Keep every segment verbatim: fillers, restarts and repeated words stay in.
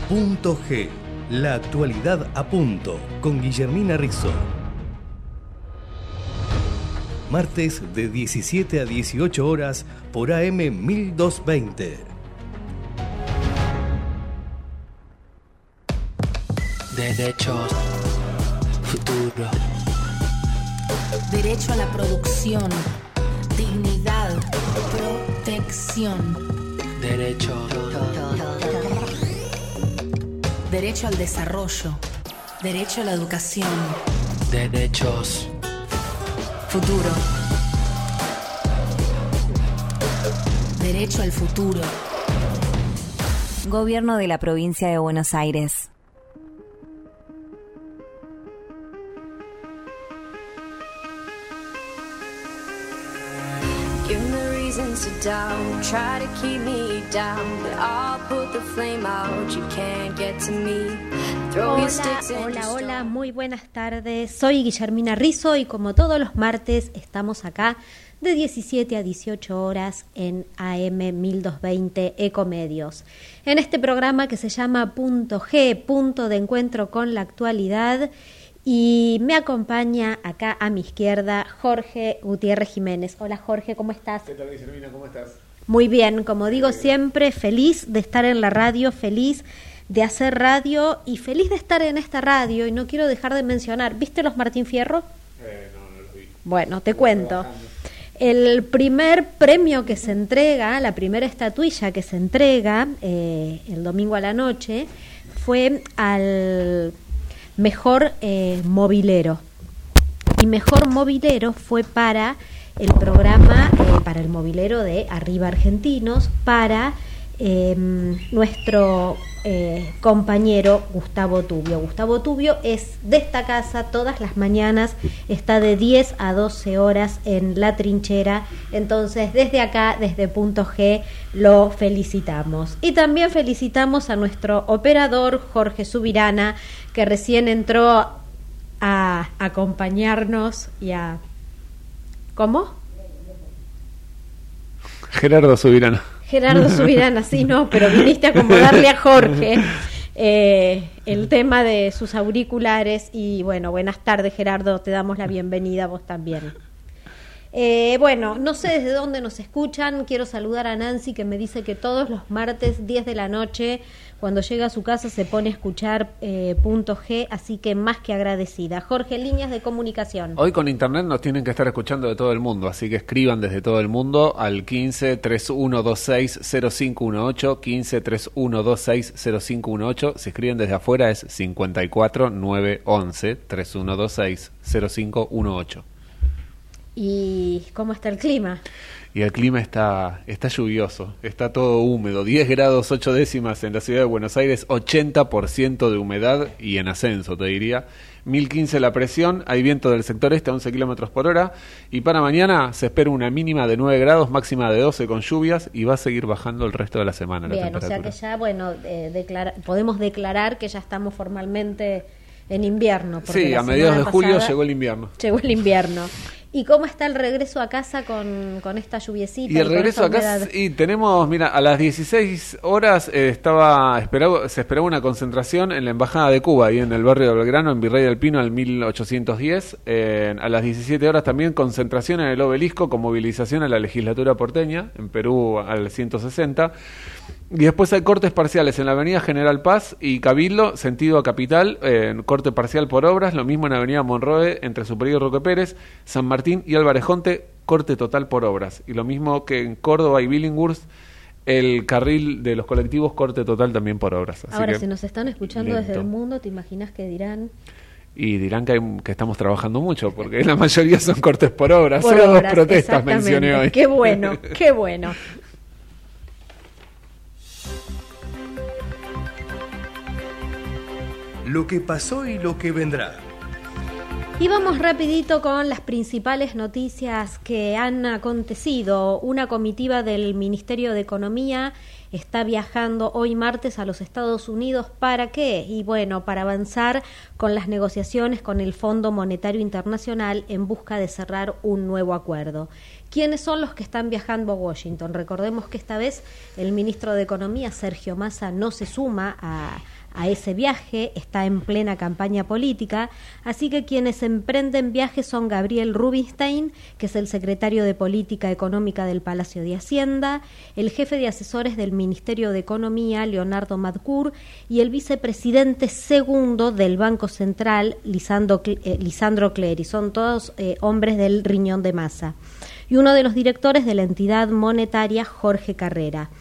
Punto G, la actualidad a punto, con Guillermina Rizzo. Martes de diecisiete a dieciocho horas por A M mil doscientos veinte. Derechos, futuro. Derecho a la producción, dignidad, protección. Derechos. Derecho al desarrollo, derecho a la educación. Derechos. Futuro. Derecho al futuro. Gobierno de la Provincia de Buenos Aires. Down, try to keep me down, but I'll put the flame out, you can't get to me. Throw your sticks in. Hola, hola, muy buenas tardes. Soy Guillermina Rizzo y como todos los martes estamos acá de diecisiete a dieciocho horas en A M mil doscientos veinte Ecomedios. En este programa que se llama Punto G, punto de encuentro con la actualidad. Y me acompaña acá a mi izquierda Jorge Gutiérrez Jiménez. Hola Jorge, ¿cómo estás? ¿Qué tal, Guillermina? ¿Cómo estás? Muy bien, como digo siempre, feliz de estar en la radio, feliz de hacer radio y feliz de estar en esta radio. Y no quiero dejar de mencionar, ¿viste los Martín Fierro? Eh, no, no los vi. Bueno, te cuento. El primer premio que se entrega, la primera estatuilla que se entrega eh, el domingo a la noche fue al mejor eh, mobilero, y mejor mobilero fue para el programa, eh, para el mobilero de Arriba Argentinos, para eh, nuestro eh, compañero Gustavo Tubio. Gustavo Tubio es de esta casa, todas las mañanas está de diez a doce horas en la trinchera, entonces desde acá, desde Punto G, lo felicitamos. Y también felicitamos a nuestro operador Jorge Subirana, que recién entró a acompañarnos y a... ¿Cómo? Gerardo Subirana. Gerardo Subirana, sí, no, pero viniste a acomodarle a Jorge eh, el tema de sus auriculares. Y bueno, buenas tardes, Gerardo, te damos la bienvenida, vos también. Eh, bueno, no sé desde dónde nos escuchan. Quiero saludar a Nancy, que me dice que todos los martes diez de la noche, cuando llega a su casa, se pone a escuchar eh, Punto G, así que más que agradecida. Jorge, líneas de comunicación. Hoy con internet nos tienen que estar escuchando de todo el mundo, así que escriban desde todo el mundo al quince, treinta y uno veintiséis, cero cinco dieciocho, quince, treinta y uno veintiséis, cero cinco dieciocho. Si escriben desde afuera es cincuenta y cuatro, nueve once, treinta y uno veintiséis, cero cinco dieciocho. ¿Y cómo está el clima? Y el clima está, está lluvioso, está todo húmedo, diez grados ocho décimas en la ciudad de Buenos Aires, ochenta por ciento de humedad y en ascenso, te diría. mil quince la presión, hay viento del sector este a once kilómetros por hora, y para mañana se espera una mínima de nueve grados, máxima de doce con lluvias, y va a seguir bajando el resto de la semana. Bien, la o sea que ya, bueno, eh, declara, podemos declarar que ya estamos formalmente en invierno. Sí, a mediados de julio llegó el invierno. Llegó el invierno. ¿Y cómo está el regreso a casa con, con esta lluviecita? Y el y regreso a casa, y tenemos, mira, a las dieciséis horas eh, estaba esperado, se esperaba una concentración en la Embajada de Cuba, ahí en el barrio de Belgrano, en Virrey del Pino, al mil ochocientos diez. Eh, a las diecisiete horas también concentración en el Obelisco con movilización a la legislatura porteña, en Perú al ciento sesenta. Y después hay cortes parciales en la avenida General Paz y Cabildo, sentido a Capital, eh, corte parcial por obras, lo mismo en avenida Monroe, entre Superior y Roque Pérez, San Martín y Álvarez Jonte, corte total por obras. Y lo mismo que en Córdoba y Billinghurst, el carril de los colectivos, corte total también por obras. Así Ahora, que, si nos están escuchando lento. desde el mundo, ¿te imaginas que dirán? Y dirán que, hay, que estamos trabajando mucho, porque la mayoría son cortes por obras, Por solo obras, dos protestas mencioné hoy. Qué bueno, qué bueno. Lo que pasó y lo que vendrá. Y vamos rapidito con las principales noticias que han acontecido. Una comitiva del Ministerio de Economía está viajando hoy martes a los Estados Unidos. ¿Para qué? Y bueno, para avanzar con las negociaciones con el Fondo Monetario Internacional en busca de cerrar un nuevo acuerdo. ¿Quiénes son los que están viajando a Washington? Recordemos que esta vez el ministro de Economía, Sergio Massa, no se suma a, a ese viaje, está en plena campaña política, así que quienes emprenden viajes son Gabriel Rubinstein, que es el secretario de Política Económica del Palacio de Hacienda, el jefe de asesores del Ministerio de Economía, Leonardo Madcour, y el vicepresidente segundo del Banco Central, Lisandro, eh, Lisandro Clery. Son todos eh, hombres del riñón de Massa. Y uno de los directores de la entidad monetaria, Jorge Carrera.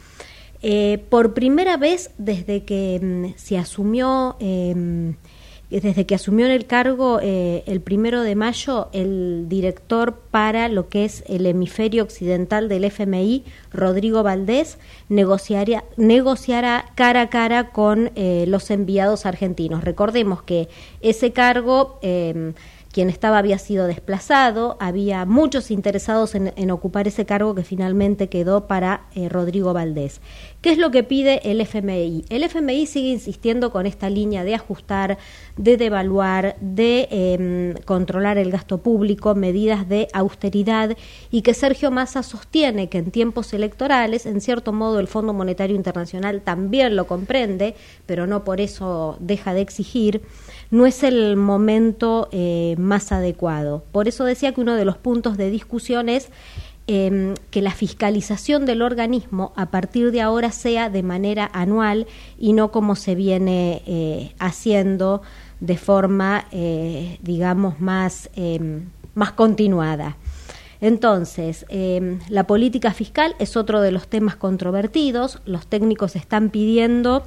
Eh, por primera vez desde que mm, se asumió, eh, desde que asumió en el cargo eh, el primero de mayo, el director para lo que es el hemisferio occidental del F M I, Rodrigo Valdés, negociaría, negociará cara a cara con eh, los enviados argentinos. Recordemos que ese cargo... Eh, quien estaba había sido desplazado, había muchos interesados en, en ocupar ese cargo que finalmente quedó para eh, Rodrigo Valdés. ¿Qué es lo que pide el F M I? El F M I sigue insistiendo con esta línea de ajustar, de devaluar, de eh, controlar el gasto público, medidas de austeridad, y que Sergio Massa sostiene que en tiempos electorales, en cierto modo el Fondo Monetario Internacional también lo comprende, pero no por eso deja de exigir, no es el momento eh, más adecuado. Por eso decía que uno de los puntos de discusión es eh, que la fiscalización del organismo a partir de ahora sea de manera anual y no como se viene eh, haciendo de forma, eh, digamos, más, eh, más continuada. Entonces, eh, la política fiscal es otro de los temas controvertidos. Los técnicos están pidiendo...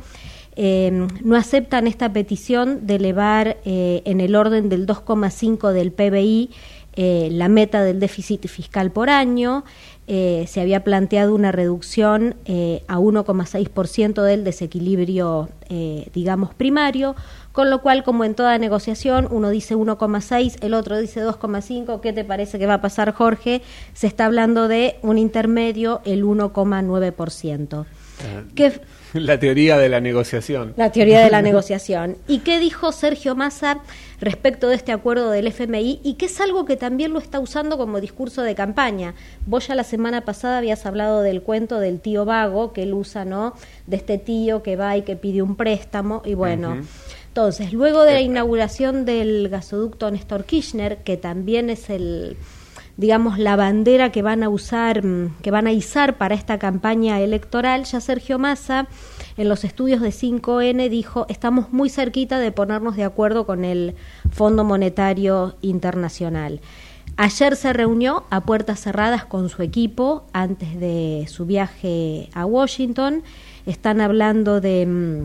Eh, no aceptan esta petición de elevar eh, en el orden del dos coma cinco del P B I eh, la meta del déficit fiscal por año. Eh, se había planteado una reducción eh, a uno coma seis por ciento del desequilibrio, eh, digamos, primario, con lo cual, como en toda negociación, uno dice uno coma seis, el otro dice dos coma cinco. ¿Qué te parece que va a pasar, Jorge? Se está hablando de un intermedio, el uno coma nueve por ciento. ¿Qué? La teoría de la negociación. La teoría de la negociación. ¿Y qué dijo Sergio Massa respecto de este acuerdo del F M I? Y que es algo que también lo está usando como discurso de campaña. Vos ya la semana pasada habías hablado del cuento del tío vago, que él usa, ¿no? De este tío que va y que pide un préstamo, y bueno... Uh-huh. Entonces, luego de la inauguración del gasoducto Néstor Kirchner, que también es el... digamos, la bandera que van a usar, que van a izar para esta campaña electoral, ya Sergio Massa, en los estudios de cinco ene, dijo, estamos muy cerquita de ponernos de acuerdo con el Fondo Monetario Internacional. Ayer se reunió a puertas cerradas con su equipo antes de su viaje a Washington. Están hablando de...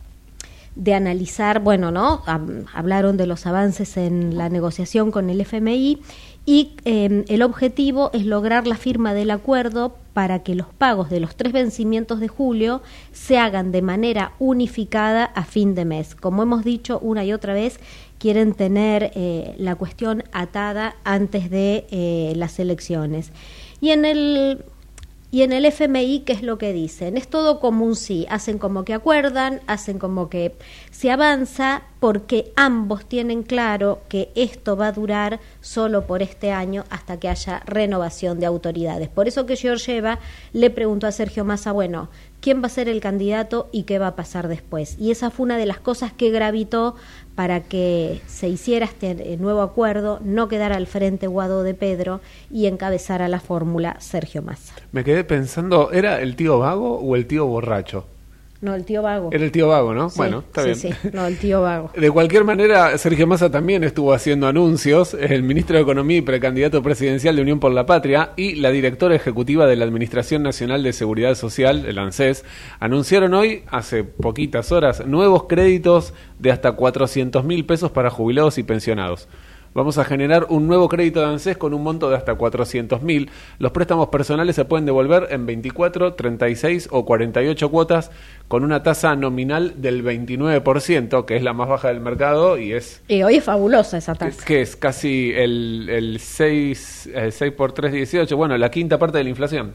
de analizar, bueno, ¿no? Hablaron de los avances en la negociación con el F M I y eh, el objetivo es lograr la firma del acuerdo para que los pagos de los tres vencimientos de julio se hagan de manera unificada a fin de mes. Como hemos dicho una y otra vez, quieren tener eh, la cuestión atada antes de eh, las elecciones. Y en el... Y en el F M I, ¿qué es lo que dicen? Es todo como un sí, hacen como que acuerdan, hacen como que se avanza, porque ambos tienen claro que esto va a durar solo por este año hasta que haya renovación de autoridades. Por eso que Georgieva le preguntó a Sergio Massa, bueno, ¿quién va a ser el candidato y qué va a pasar después? Y esa fue una de las cosas que gravitó para que se hiciera este nuevo acuerdo, no quedara al frente Guado de Pedro y encabezara la fórmula Sergio Massa. Me quedé pensando, ¿era el tío vago o el tío borracho? No, el tío vago. Era el tío vago, ¿no? Sí, bueno, está sí, bien. Sí, no, el tío vago. De cualquier manera, Sergio Massa también estuvo haciendo anuncios. El ministro de Economía y precandidato presidencial de Unión por la Patria y la directora ejecutiva de la Administración Nacional de Seguridad Social, el ANSES, anunciaron hoy, hace poquitas horas, nuevos créditos de hasta cuatrocientos mil pesos para jubilados y pensionados. Vamos a generar un nuevo crédito de ANSES con un monto de hasta cuatrocientos mil. Los préstamos personales se pueden devolver en veinticuatro, treinta y seis o cuarenta y ocho cuotas con una tasa nominal del veintinueve por ciento, que es la más baja del mercado y es... Y hoy es fabulosa esa tasa. Es que es casi el, el seis, el seis por tres, dieciocho, bueno, la quinta parte de la inflación.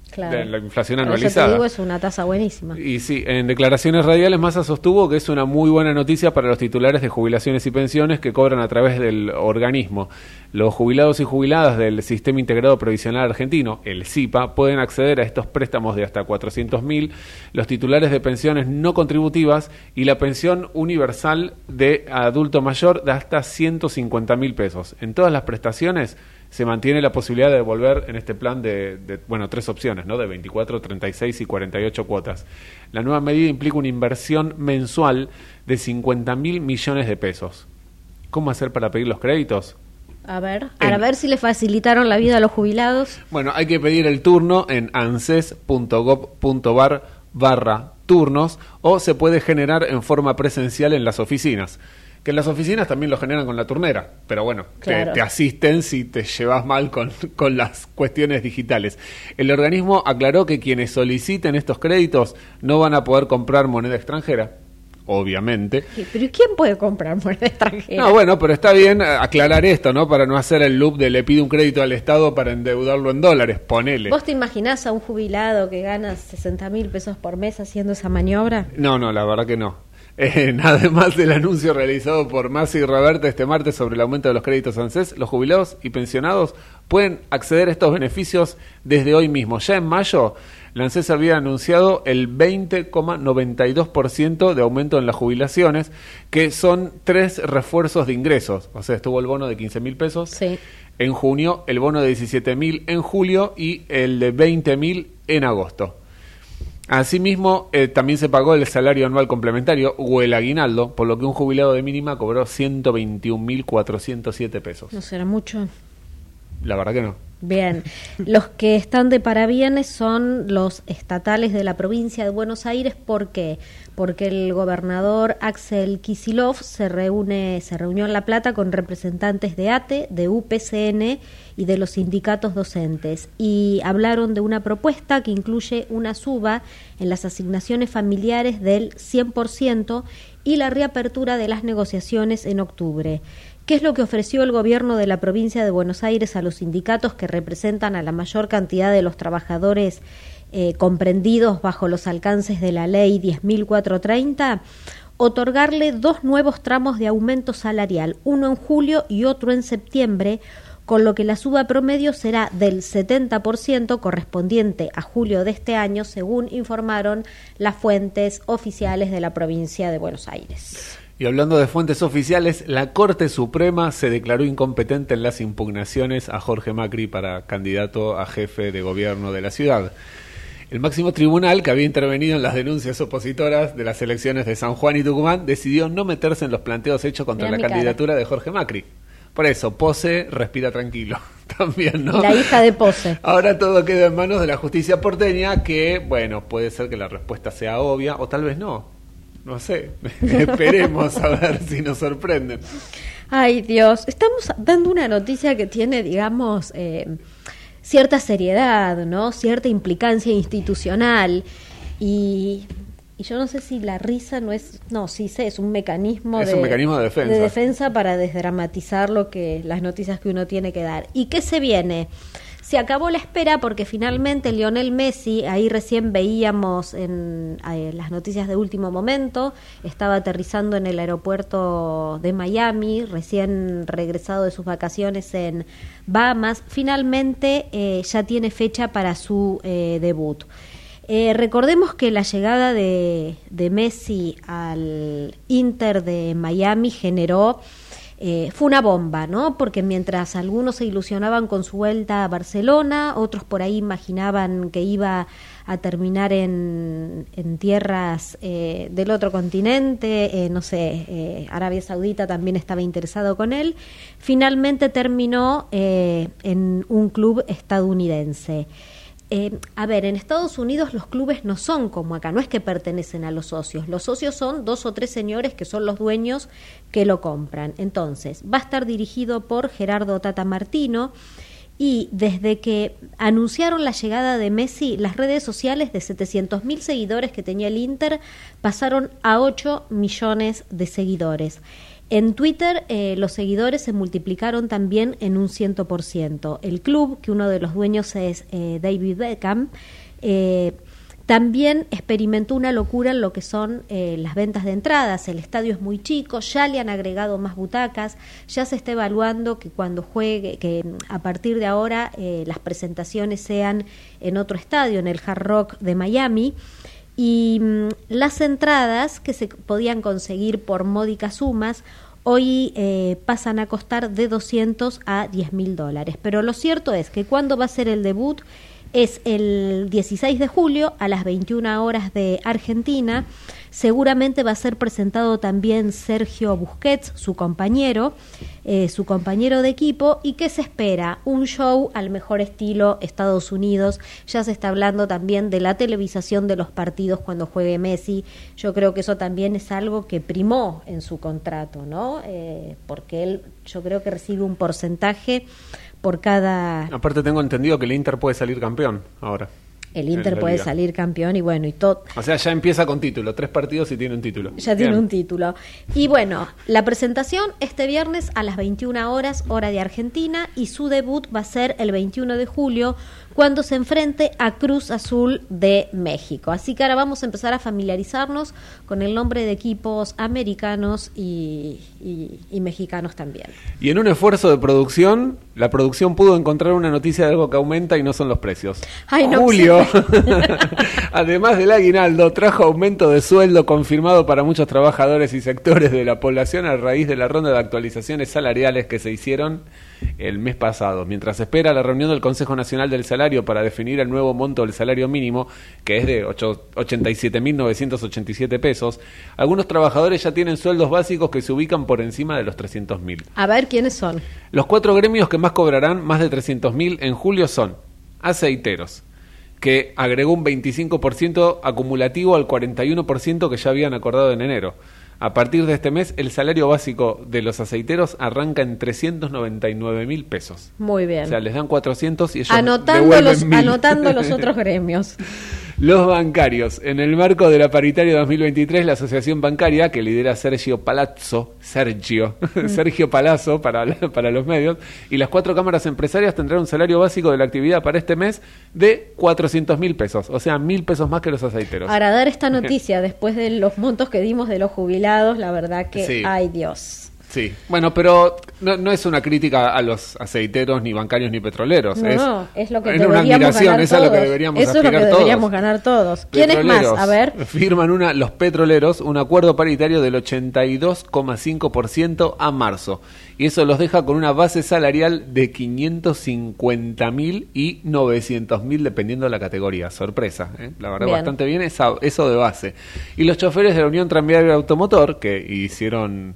Claro. de la inflación Por eso anualizada. te digo, es una tasa buenísima. Y sí, en declaraciones radiales Massa sostuvo que es una muy buena noticia para los titulares de jubilaciones y pensiones que cobran a través del organismo. Los jubilados y jubiladas del Sistema Integrado Previsional Argentino, el S I P A, pueden acceder a estos préstamos de hasta cuatrocientos mil, los titulares de pensiones no contributivas y la pensión universal de adulto mayor de hasta ciento cincuenta mil pesos. En todas las prestaciones se mantiene la posibilidad de devolver en este plan de, de, bueno, tres opciones, ¿no? De veinticuatro, treinta y seis y cuarenta y ocho cuotas. La nueva medida implica una inversión mensual de cincuenta mil millones de pesos. ¿Cómo hacer para pedir los créditos? A ver, En- a ver si le facilitaron la vida a los jubilados. Bueno, hay que pedir el turno en anses punto gob punto bar barra turnos o se puede generar en forma presencial en las oficinas. Que en las oficinas también lo generan con la turnera, pero bueno, Claro. te, te asisten si te llevas mal con, con las cuestiones digitales. El organismo aclaró que quienes soliciten estos créditos no van a poder comprar moneda extranjera, obviamente. ¿Pero ¿y quién puede comprar moneda extranjera? No, bueno, pero está bien aclarar esto, ¿no? Para no hacer el loop de le pide un crédito al Estado para endeudarlo en dólares, ponele. ¿Vos te imaginás a un jubilado que gana sesenta mil pesos por mes haciendo esa maniobra? No, no, la verdad que no. Eh, además del anuncio realizado por Massa y Roberta este martes sobre el aumento de los créditos ANSES, los jubilados y pensionados pueden acceder a estos beneficios desde hoy mismo. Ya en mayo, la ANSES había anunciado el veinte coma noventa y dos por ciento de aumento en las jubilaciones, que son tres refuerzos de ingresos. O sea, estuvo el bono de quince mil pesos Sí. en junio, el bono de diecisiete mil en julio y el de veinte mil en agosto. Asimismo, eh, también se pagó el salario anual complementario o el aguinaldo, por lo que un jubilado de mínima cobró ciento veintiún mil cuatrocientos siete pesos. ¿No será mucho? La verdad que no. Bien, los que están de parabienes son los estatales de la provincia de Buenos Aires. ¿Por qué? Porque el gobernador Axel Kicillof se reúne, se reunió en La Plata con representantes de A T E, de U P C N y de los sindicatos docentes y hablaron de una propuesta que incluye una suba en las asignaciones familiares del cien por ciento y la reapertura de las negociaciones en octubre. ¿Qué es lo que ofreció el gobierno de la provincia de Buenos Aires a los sindicatos que representan a la mayor cantidad de los trabajadores eh, comprendidos bajo los alcances de la ley diez mil cuatrocientos treinta? Otorgarle dos nuevos tramos de aumento salarial, uno en julio y otro en septiembre, con lo que la suba promedio será del setenta por ciento correspondiente a julio de este año, según informaron las fuentes oficiales de la provincia de Buenos Aires. Y hablando de fuentes oficiales, la Corte Suprema se declaró incompetente en las impugnaciones a Jorge Macri para candidato a jefe de gobierno de la ciudad. El máximo tribunal, que había intervenido en las denuncias opositoras de las elecciones de San Juan y Tucumán, decidió no meterse en los planteos hechos contra Mirá la mi candidatura de Jorge Macri. Por eso, Pose respira tranquilo también, ¿no? La hija de Pose. Ahora todo queda en manos de la justicia porteña, que, bueno, puede ser que la respuesta sea obvia o tal vez no. No sé, esperemos a ver si nos sorprenden. Ay, Dios, estamos dando una noticia que tiene, digamos, eh, cierta seriedad, ¿no? Cierta implicancia institucional y, y yo no sé si la risa no es, no, sí sé, es un mecanismo, Es de, un mecanismo de defensa. de defensa para desdramatizar lo que las noticias que uno tiene que dar. ¿Y qué se viene? Se acabó la espera porque finalmente Lionel Messi, ahí recién veíamos en eh, las noticias de último momento, estaba aterrizando en el aeropuerto de Miami, recién regresado de sus vacaciones en Bahamas, finalmente eh, ya tiene fecha para su eh, debut. Eh, recordemos que la llegada de, de Messi al Inter de Miami generó... Eh, fue una bomba, ¿no? Porque mientras algunos se ilusionaban con su vuelta a Barcelona, otros por ahí imaginaban que iba a terminar en, en tierras eh, del otro continente, eh, no sé, eh, Arabia Saudita también estaba interesado con él, finalmente terminó eh, en un club estadounidense. Eh, a ver, en Estados Unidos los clubes no son como acá, no es que pertenecen a los socios. Los socios son dos o tres señores que son los dueños que lo compran. Entonces, va a estar dirigido por Gerardo Tata Martino y desde que anunciaron la llegada de Messi, las redes sociales de setecientos mil seguidores que tenía el Inter pasaron a ocho millones de seguidores. En Twitter eh, los seguidores se multiplicaron también en un cien por ciento. El club, que uno de los dueños es eh, David Beckham, eh, también experimentó una locura en lo que son eh, las ventas de entradas. El estadio es muy chico, ya le han agregado más butacas, ya se está evaluando que cuando juegue, que a partir de ahora eh, las presentaciones sean en otro estadio, en el Hard Rock de Miami. Y mmm, las entradas que se podían conseguir por módicas sumas hoy eh, pasan a costar de doscientos a diez mil dólares. Pero lo cierto es que cuando va a ser el debut es el dieciséis de julio a las veintiuna horas de Argentina. Seguramente va a ser presentado también Sergio Busquets, su compañero, eh, su compañero de equipo. ¿Y qué se espera? Un show al mejor estilo Estados Unidos. Ya se está hablando también de la televisación de los partidos cuando juegue Messi. Yo creo que eso también es algo que primó en su contrato, ¿no? Eh, porque él, yo creo que recibe un porcentaje por cada... Aparte tengo entendido que el Inter puede salir campeón ahora. El Inter puede salir campeón y bueno, y todo. O sea, ya empieza con título, tres partidos y tiene un título. Ya Bien. tiene un título. Y bueno, la presentación este viernes a las veintiuna horas, hora de Argentina, y su debut va a ser el veintiuno de julio, cuando se enfrente a Cruz Azul de México. Así que ahora vamos a empezar a familiarizarnos con el nombre de equipos americanos y, y, y mexicanos también. Y en un esfuerzo de producción, la producción pudo encontrar una noticia de algo que aumenta y no son los precios. Ay, no, Julio, además del aguinaldo, trajo aumento de sueldo confirmado para muchos trabajadores y sectores de la población a raíz de la ronda de actualizaciones salariales que se hicieron el mes pasado. Mientras se espera la reunión del Consejo Nacional del Salario para definir el nuevo monto del salario mínimo, que es de ochenta y siete mil novecientos ochenta y siete pesos, algunos trabajadores ya tienen sueldos básicos que se ubican por encima de los trescientos mil. A ver, ¿quiénes son? Los cuatro gremios que más cobrarán más de trescientos mil en julio son aceiteros, que agregó un veinticinco por ciento acumulativo al cuarenta y uno por ciento que ya habían acordado en enero. A partir de este mes, el salario básico de los aceiteros arranca en trescientos noventa y nueve mil pesos. Muy bien. O sea, les dan cuatrocientos y ellos anotando devuelven los, mil. anotando los otros gremios. Los bancarios. En el marco de la paritaria dos mil veintitrés, la asociación bancaria, que lidera Sergio Palazzo, Sergio, mm. Sergio Palazzo para, para los medios, y las cuatro cámaras empresarias tendrán un salario básico de la actividad para este mes de cuatrocientos mil pesos, o sea, mil pesos más que los aceiteros. Para dar esta noticia, después de los montos que dimos de los jubilados, la verdad que, sí. Ay Dios. Sí, bueno, pero no, no es una crítica a los aceiteros, ni bancarios, ni petroleros. No, es, no, es lo que es deberíamos una admiración, ganar esa todos. Es lo que deberíamos Eso es lo que todos. deberíamos ganar todos. ¿Quién es más? A ver. Firman una, los petroleros un acuerdo paritario del ochenta y dos coma cinco por ciento a marzo. Y eso los deja con una base salarial de quinientos cincuenta mil y novecientos mil, dependiendo de la categoría. Sorpresa, ¿eh? La verdad, bien. Bastante bien esa, eso de base. Y los choferes de la Unión Tranviaria Automotor, que hicieron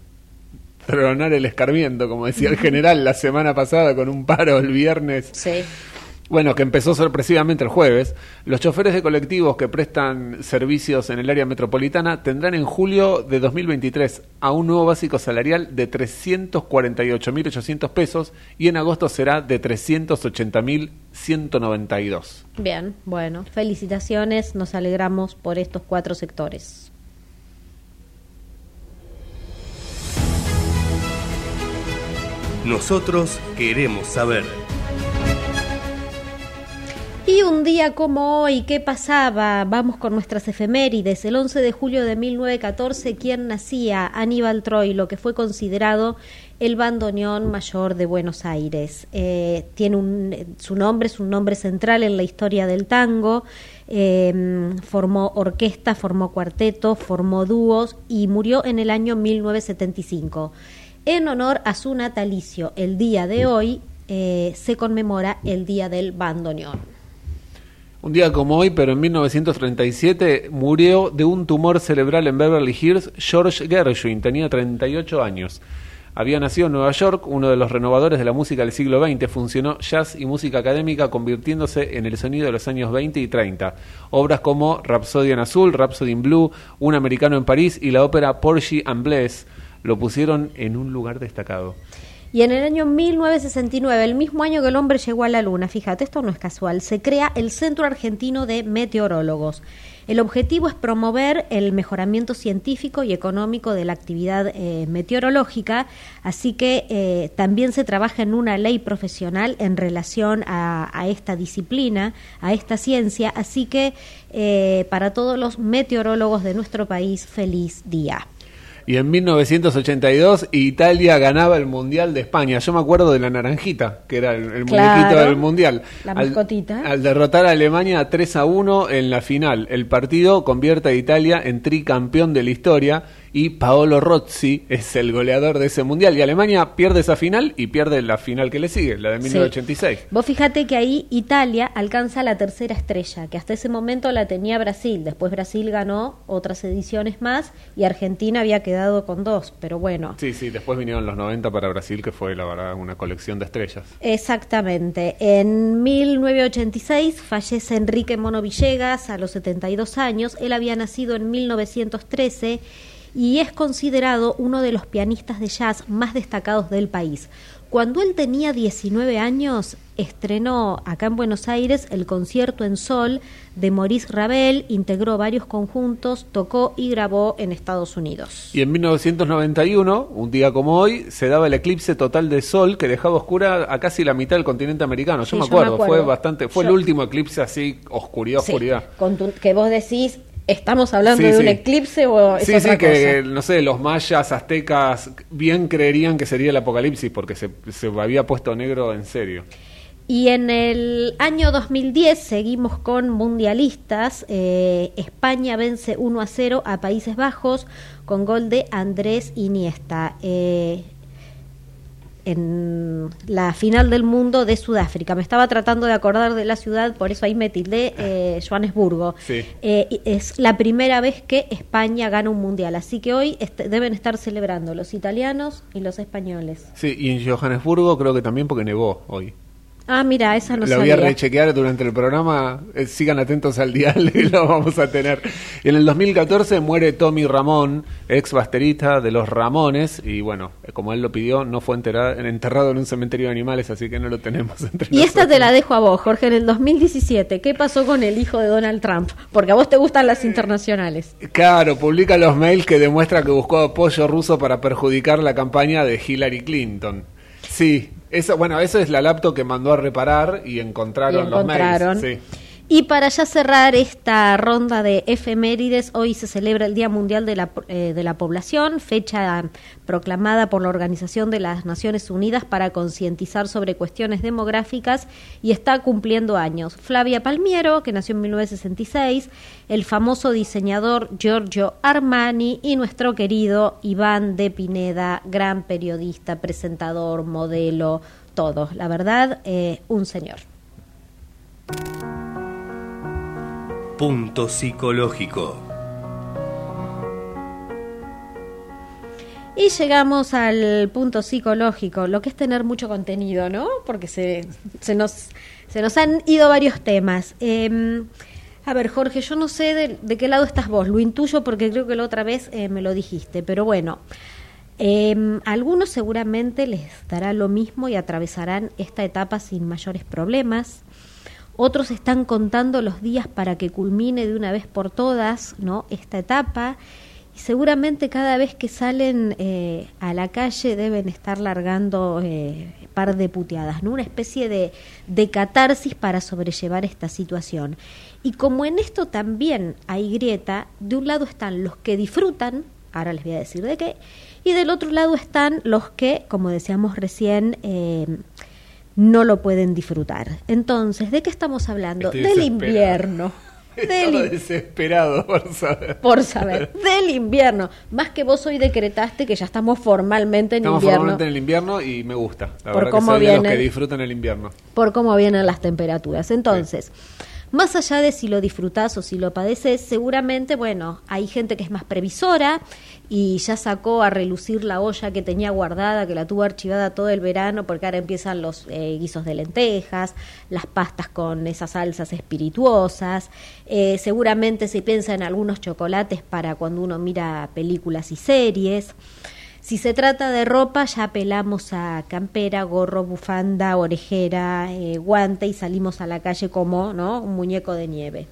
tronar el escarmiento, como decía el general la semana pasada con un paro el viernes. Sí. Bueno, que empezó sorpresivamente el jueves. Los choferes de colectivos que prestan servicios en el área metropolitana tendrán en julio de dos mil veintitrés a un nuevo básico salarial de trescientos cuarenta y ocho mil ochocientos pesos y en agosto será de trescientos ochenta mil ciento noventa y dos. Bien, bueno, felicitaciones, nos alegramos por estos cuatro sectores. Nosotros queremos saber. Y un día como hoy, ¿qué pasaba? Vamos con nuestras efemérides. El once de julio de mil novecientos catorce, ¿quién nacía? Aníbal Troilo, que fue considerado el bandoneón mayor de Buenos Aires. Eh, tiene un, su nombre es un nombre central en la historia del tango. Eh, formó orquesta, formó cuarteto, formó dúos y murió en el año mil novecientos setenta y cinco. En honor a su natalicio, el día de hoy eh, se conmemora el Día del Bandoneón. Un día como hoy, pero en mil novecientos treinta y siete, murió de un tumor cerebral en Beverly Hills George Gershwin, tenía treinta y ocho años. Había nacido en Nueva York, uno de los renovadores de la música del siglo veinte, funcionó jazz y música académica convirtiéndose en el sonido de los años veinte y treinta. Obras como Rhapsody en Azul, Rhapsody in Blue, Un americano en París y la ópera Porgy and Bess lo pusieron en un lugar destacado. Y en el año mil novecientos sesenta y nueve, el mismo año que el hombre llegó a la Luna, fíjate, esto no es casual, se crea el Centro Argentino de Meteorólogos. El objetivo es promover el mejoramiento científico y económico de la actividad eh, meteorológica, así que eh, también se trabaja en una ley profesional en relación a, a esta disciplina, a esta ciencia, así que eh, para todos los meteorólogos de nuestro país, feliz día. Y en mil novecientos ochenta y dos Italia ganaba el Mundial de España. Yo me acuerdo de la naranjita, que era el, el Claro, muñequito del Mundial. la Al- mascotita. Al, derrotar a Alemania tres a uno en la final. El partido convierte a Italia en tricampeón de la historia y Paolo Rossi es el goleador de ese Mundial. Y Alemania pierde esa final y pierde la final que le sigue, la de mil novecientos ochenta y seis. Sí. Vos fíjate que ahí Italia alcanza la tercera estrella, que hasta ese momento la tenía Brasil. Después Brasil ganó otras ediciones más y Argentina había quedado con dos, pero bueno. Sí, sí, después vinieron los noventa para Brasil, que fue la verdad una colección de estrellas. Exactamente. En mil novecientos ochenta y seis fallece Enrique Mono Villegas a los setenta y dos años. Él había nacido en mil novecientos trece y es considerado uno de los pianistas de jazz más destacados del país. Cuando él tenía diecinueve años, estrenó acá en Buenos Aires el Concierto en Sol de Maurice Ravel, integró varios conjuntos, tocó y grabó en Estados Unidos. Y en mil novecientos noventa y uno, un día como hoy, se daba el eclipse total de sol que dejaba oscura a casi la mitad del continente americano. Yo, Sí, me, yo me acuerdo, acuerdo. fue bastante, fue Yo- el último eclipse así, oscuridad, Sí, oscuridad. con tu- que vos decís, ¿estamos hablando Sí, de sí. un eclipse o es Sí, otra sí, que cosa? no sé, los mayas, aztecas, bien creerían que sería el apocalipsis porque se, se había puesto negro en serio. Y en el año dos mil diez seguimos con mundialistas. eh, España vence uno a cero a Países Bajos con gol de Andrés Iniesta. Eh, en la final del mundo de Sudáfrica. Me estaba tratando de acordar de la ciudad, por eso ahí me tildé, eh, Johannesburgo. Sí. Eh, y es la primera vez que España gana un mundial, así que hoy este, deben estar celebrando los italianos y los españoles. Sí, y en Johannesburgo creo que también porque nevó hoy. Ah, mira, esa no Lo voy a sabía. rechequear durante el programa, eh, sigan atentos al dial y lo vamos a tener. Y en el dos mil catorce muere Tommy Ramón, ex baterista de los Ramones, y bueno, eh, como él lo pidió, no fue enterrado, enterrado en un cementerio de animales, así que no lo tenemos entre Y esta nosotros. te la dejo a vos, Jorge. En el dos mil diecisiete, ¿qué pasó con el hijo de Donald Trump? Porque a vos te gustan las internacionales. Claro, publica los mails que demuestra que buscó apoyo ruso para perjudicar la campaña de Hillary Clinton. Sí, eso, bueno, eso es la laptop que mandó a reparar y encontraron, Y encontraron. los mails. Sí. Y para ya cerrar esta ronda de efemérides, hoy se celebra el Día Mundial de la, eh, de la Población, fecha proclamada por la Organización de las Naciones Unidas para concientizar sobre cuestiones demográficas y está cumpliendo años. Flavia Palmiero, que nació en mil novecientos sesenta y seis, el famoso diseñador Giorgio Armani y nuestro querido Iván de Pineda, gran periodista, presentador, modelo, todo. La verdad, eh, un señor. Punto psicológico. Y llegamos al punto psicológico, lo que es tener mucho contenido, ¿no? Porque se, se, nos, se nos han ido varios temas. Eh, a ver, Jorge, yo no sé de, de qué lado estás vos, lo intuyo porque creo que la otra vez eh, me lo dijiste, pero bueno, eh, a algunos seguramente les dará lo mismo y atravesarán esta etapa sin mayores problemas. Otros están contando los días para que culmine de una vez por todas, ¿no?, esta etapa, y seguramente cada vez que salen eh, a la calle deben estar largando eh, par de puteadas, ¿no?, una especie de, de catarsis para sobrellevar esta situación. Y como en esto también hay grieta, de un lado están los que disfrutan, ahora les voy a decir de qué, y del otro lado están los que, como decíamos recién, eh, no lo pueden disfrutar. Entonces, ¿de qué estamos hablando? Estoy Del desesperado. invierno. Estaba Del, desesperado por saber. por saber, del invierno. Más que vos hoy decretaste que ya estamos formalmente en Estamos invierno. formalmente en el invierno y me gusta. La Por verdad cómo que soy de los viene- que disfrutan el invierno. Por cómo vienen las temperaturas. Entonces, más allá de si lo disfrutás o si lo padeces, seguramente, bueno, hay gente que es más previsora y ya sacó a relucir la olla que tenía guardada, que la tuvo archivada todo el verano, porque ahora empiezan los eh, guisos de lentejas, las pastas con esas salsas espirituosas, eh, seguramente se piensa en algunos chocolates para cuando uno mira películas y series. Si se trata de ropa, ya apelamos a campera, gorro, bufanda, orejera, eh, guante y salimos a la calle como, ¿no?, un muñeco de nieve.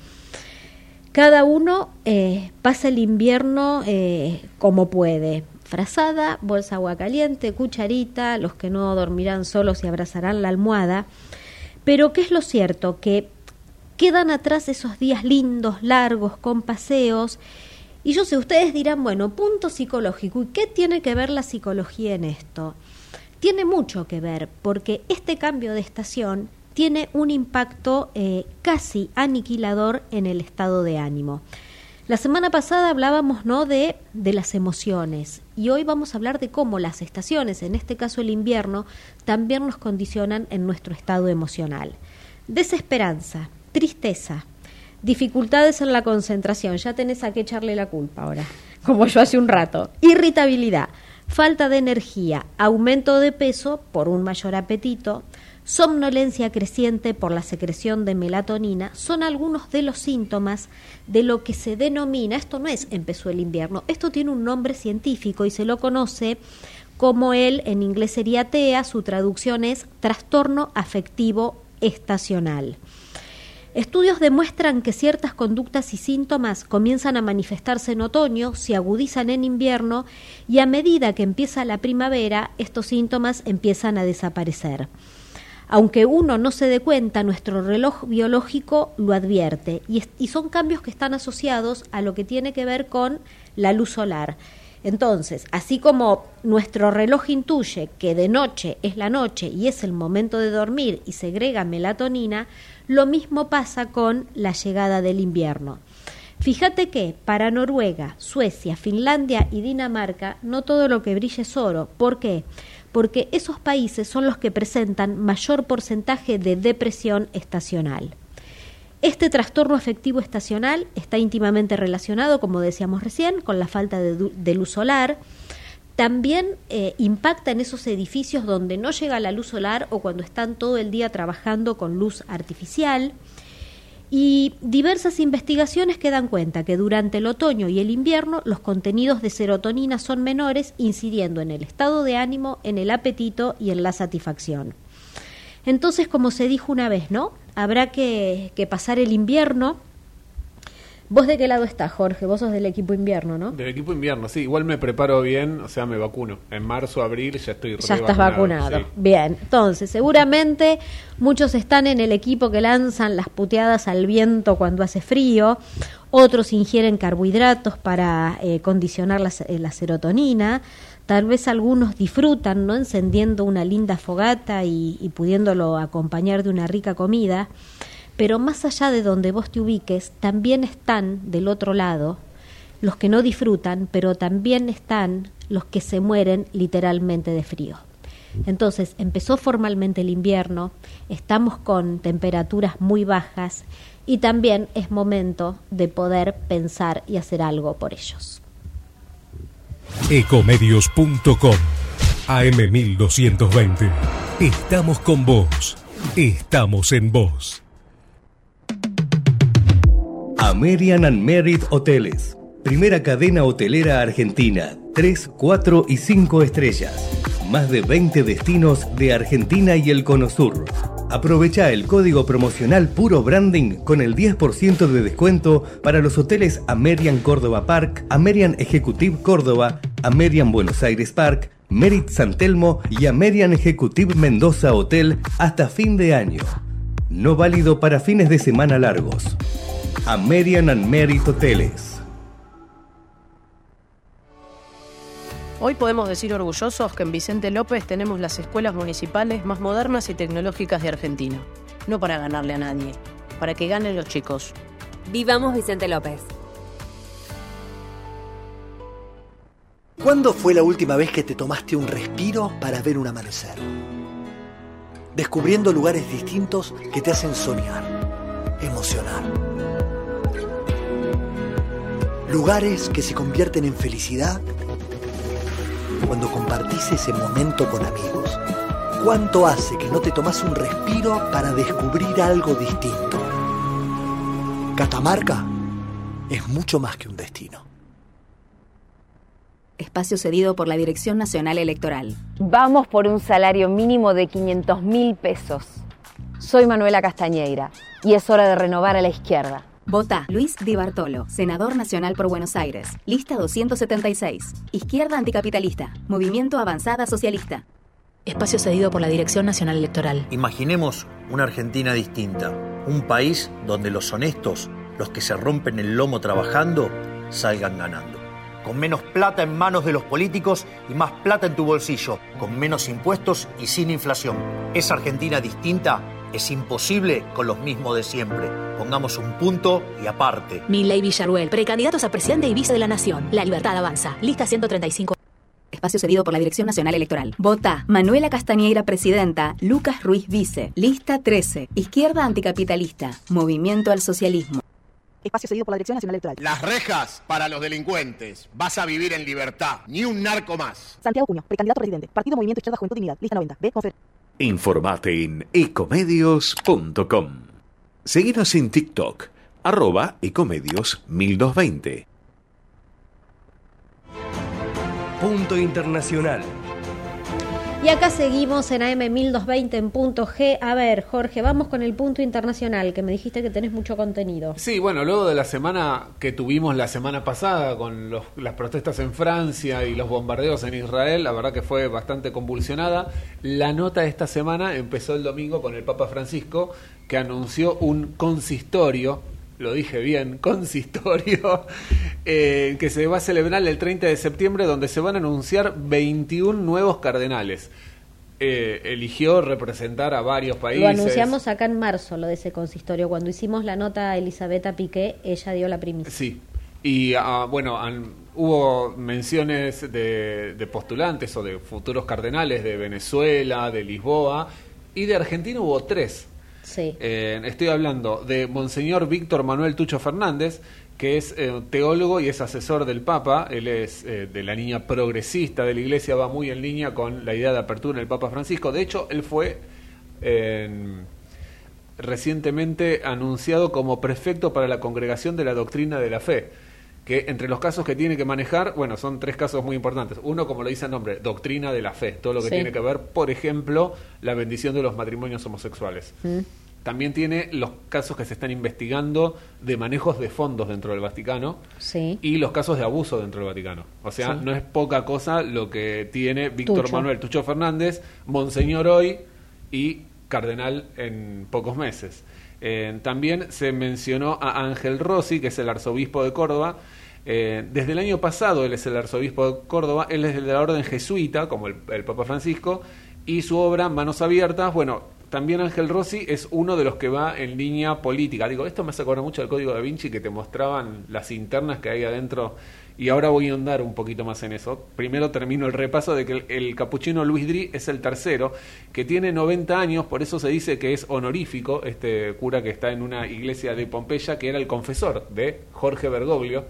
Cada uno eh, pasa el invierno eh, como puede. Frazada, bolsa agua caliente, cucharita, los que no dormirán solos y abrazarán la almohada. Pero ¿qué es lo cierto? Que quedan atrás esos días lindos, largos, con paseos. Y yo sé, ustedes dirán, bueno, punto psicológico. ¿Y qué tiene que ver la psicología en esto? Tiene mucho que ver, porque este cambio de estación tiene un impacto eh, casi aniquilador en el estado de ánimo. La semana pasada hablábamos, ¿no?, de, de las emociones, y hoy vamos a hablar de cómo las estaciones, en este caso el invierno, también nos condicionan en nuestro estado emocional. Desesperanza, tristeza, dificultades en la concentración, ya tenés a qué echarle la culpa ahora, como yo hace un rato, irritabilidad, falta de energía, aumento de peso por un mayor apetito, somnolencia creciente por la secreción de melatonina, son algunos de los síntomas de lo que se denomina, esto no es empezó el invierno, esto tiene un nombre científico y se lo conoce como el, en inglés sería T E A, su traducción es trastorno afectivo estacional. Estudios demuestran que ciertas conductas y síntomas comienzan a manifestarse en otoño, se agudizan en invierno y a medida que empieza la primavera, estos síntomas empiezan a desaparecer. Aunque uno no se dé cuenta, nuestro reloj biológico lo advierte y, y son cambios que están asociados a lo que tiene que ver con la luz solar. Entonces, así como nuestro reloj intuye que de noche es la noche y es el momento de dormir y segrega melatonina, lo mismo pasa con la llegada del invierno. Fíjate que para Noruega, Suecia, Finlandia y Dinamarca no todo lo que brilla es oro. ¿Por qué? Porque esos países son los que presentan mayor porcentaje de depresión estacional. Este trastorno afectivo estacional está íntimamente relacionado, como decíamos recién, con la falta de, de luz solar. También eh, impacta en esos edificios donde no llega la luz solar o cuando están todo el día trabajando con luz artificial. Y diversas investigaciones que dan cuenta que durante el otoño y el invierno los contenidos de serotonina son menores, incidiendo en el estado de ánimo, en el apetito y en la satisfacción. Entonces, como se dijo una vez, ¿no? Habrá que, que pasar el invierno. ¿Vos de qué lado estás, Jorge? Vos sos del equipo invierno, ¿no? Del equipo invierno, sí. Igual me preparo bien, o sea, me vacuno. En marzo, abril ya estoy Ya estás vacunado. Sí. Bien, entonces, seguramente muchos están en el equipo que lanzan las puteadas al viento cuando hace frío. Otros ingieren carbohidratos para eh, condicionar la, eh, la serotonina. Tal vez algunos disfrutan, ¿no?, encendiendo una linda fogata y, y pudiéndolo acompañar de una rica comida. Pero más allá de donde vos te ubiques, también están del otro lado los que no disfrutan, pero también están los que se mueren literalmente de frío. Entonces, empezó formalmente el invierno, estamos con temperaturas muy bajas y también es momento de poder pensar y hacer algo por ellos. Ecomedios punto com A M mil doscientos veinte. Estamos con vos. Estamos en vos. American and Merit Hoteles, primera cadena hotelera argentina, tres, cuatro y cinco estrellas. Más de veinte destinos de Argentina y el Cono Sur. Aprovecha el código promocional Puro Branding con el diez por ciento de descuento para los hoteles American Córdoba Park, American Executive Córdoba, American Buenos Aires Park, Merit San Telmo y American Executive Mendoza Hotel hasta fin de año. No válido para fines de semana largos. American and Merit Hoteles. Hoy podemos decir orgullosos que en Vicente López tenemos las escuelas municipales más modernas y tecnológicas de Argentina. No para ganarle a nadie, para que ganen los chicos. Vivamos Vicente López. ¿Cuándo fue la última vez que te tomaste un respiro para ver un amanecer? Descubriendo lugares distintos que te hacen soñar, emocionar. Lugares que se convierten en felicidad cuando compartís ese momento con amigos. ¿Cuánto hace que no te tomás un respiro para descubrir algo distinto? Catamarca es mucho más que un destino. Espacio cedido por la Dirección Nacional Electoral. Vamos por un salario mínimo de quinientos mil pesos. Soy Manuela Castañeira y es hora de renovar a la izquierda. Vota Luis Di Bartolo, senador nacional por Buenos Aires. Lista doscientos setenta y seis. Izquierda anticapitalista. Movimiento Avanzada Socialista. Espacio cedido por la Dirección Nacional Electoral. Imaginemos una Argentina distinta. Un país donde los honestos, los que se rompen el lomo trabajando, salgan ganando. Con menos plata en manos de los políticos y más plata en tu bolsillo. Con menos impuestos y sin inflación. Esa Argentina distinta es imposible con los mismos de siempre. Pongamos un punto y aparte. Milei Villarruel, precandidatos a presidente y vice de la Nación. La Libertad avanza. Lista ciento treinta y cinco. Espacio cedido por la Dirección Nacional Electoral. Vota Manuela Castañeira, presidenta. Lucas Ruiz, vice. Lista trece. Izquierda anticapitalista. Movimiento al socialismo. Espacio cedido por la Dirección Nacional Electoral. Las rejas para los delincuentes. Vas a vivir en libertad. Ni un narco más. Santiago Cuño, precandidato a presidente. Partido Movimiento Izquierda Juventud Dignidad. Lista noventa. B. Confer. Informate en ecomedios punto com. Seguinos en TikTok, arroba ecomedios mil doscientos veinte. Punto Internacional. Y acá seguimos en A M mil doscientos veinte en punto G. A ver, Jorge, vamos con el punto internacional, que me dijiste que tenés mucho contenido. Sí, bueno, luego de la semana que tuvimos la semana pasada con los, las protestas en Francia y los bombardeos en Israel, la verdad que fue bastante convulsionada. La nota de esta semana empezó el domingo con el Papa Francisco, que anunció un consistorio, lo dije bien, consistorio, eh, que se va a celebrar el treinta de septiembre, donde se van a anunciar veintiún nuevos cardenales. Eh, eligió representar a varios países. Lo anunciamos acá en marzo, lo de ese consistorio. Cuando hicimos la nota a Elisabetta Piqué, ella dio la primicia. Sí, y uh, bueno, han, hubo menciones de, de postulantes o de futuros cardenales de Venezuela, de Lisboa, y de Argentina hubo tres. Sí. Eh, estoy hablando de Monseñor Víctor Manuel Tucho Fernández, que es eh, teólogo y es asesor del Papa. Él es eh, de la línea progresista de la Iglesia, va muy en línea con la idea de apertura del Papa Francisco. De hecho, él fue eh, recientemente anunciado como prefecto para la Congregación de la Doctrina de la Fe, que entre los casos que tiene que manejar, bueno, son tres casos muy importantes. Uno, como lo dice el nombre, doctrina de la fe, todo lo que sí. tiene que ver, por ejemplo, la bendición de los matrimonios homosexuales. Mm. También tiene los casos que se están investigando de manejos de fondos dentro del Vaticano, sí. y los casos de abuso dentro del Vaticano. O sea, sí. no es poca cosa lo que tiene Víctor Tucho. Manuel Tucho Fernández, monseñor hoy y cardenal en pocos meses. Eh, también se mencionó a Ángel Rossi, que es el arzobispo de Córdoba. Eh, desde el año pasado él es el arzobispo de Córdoba, él es de la orden jesuita, como el, el Papa Francisco, y su obra Manos Abiertas, bueno, también Ángel Rossi es uno de los que va en línea política. Digo, esto me hace acordar mucho del Código Da Vinci, que te mostraban las internas que hay adentro, y ahora voy a ahondar un poquito más en eso. Primero termino el repaso de que el, el capuchino Luis Dri es el tercero, que tiene noventa años, por eso se dice que es honorífico, este cura que está en una iglesia de Pompeya, que era el confesor de Jorge Bergoglio.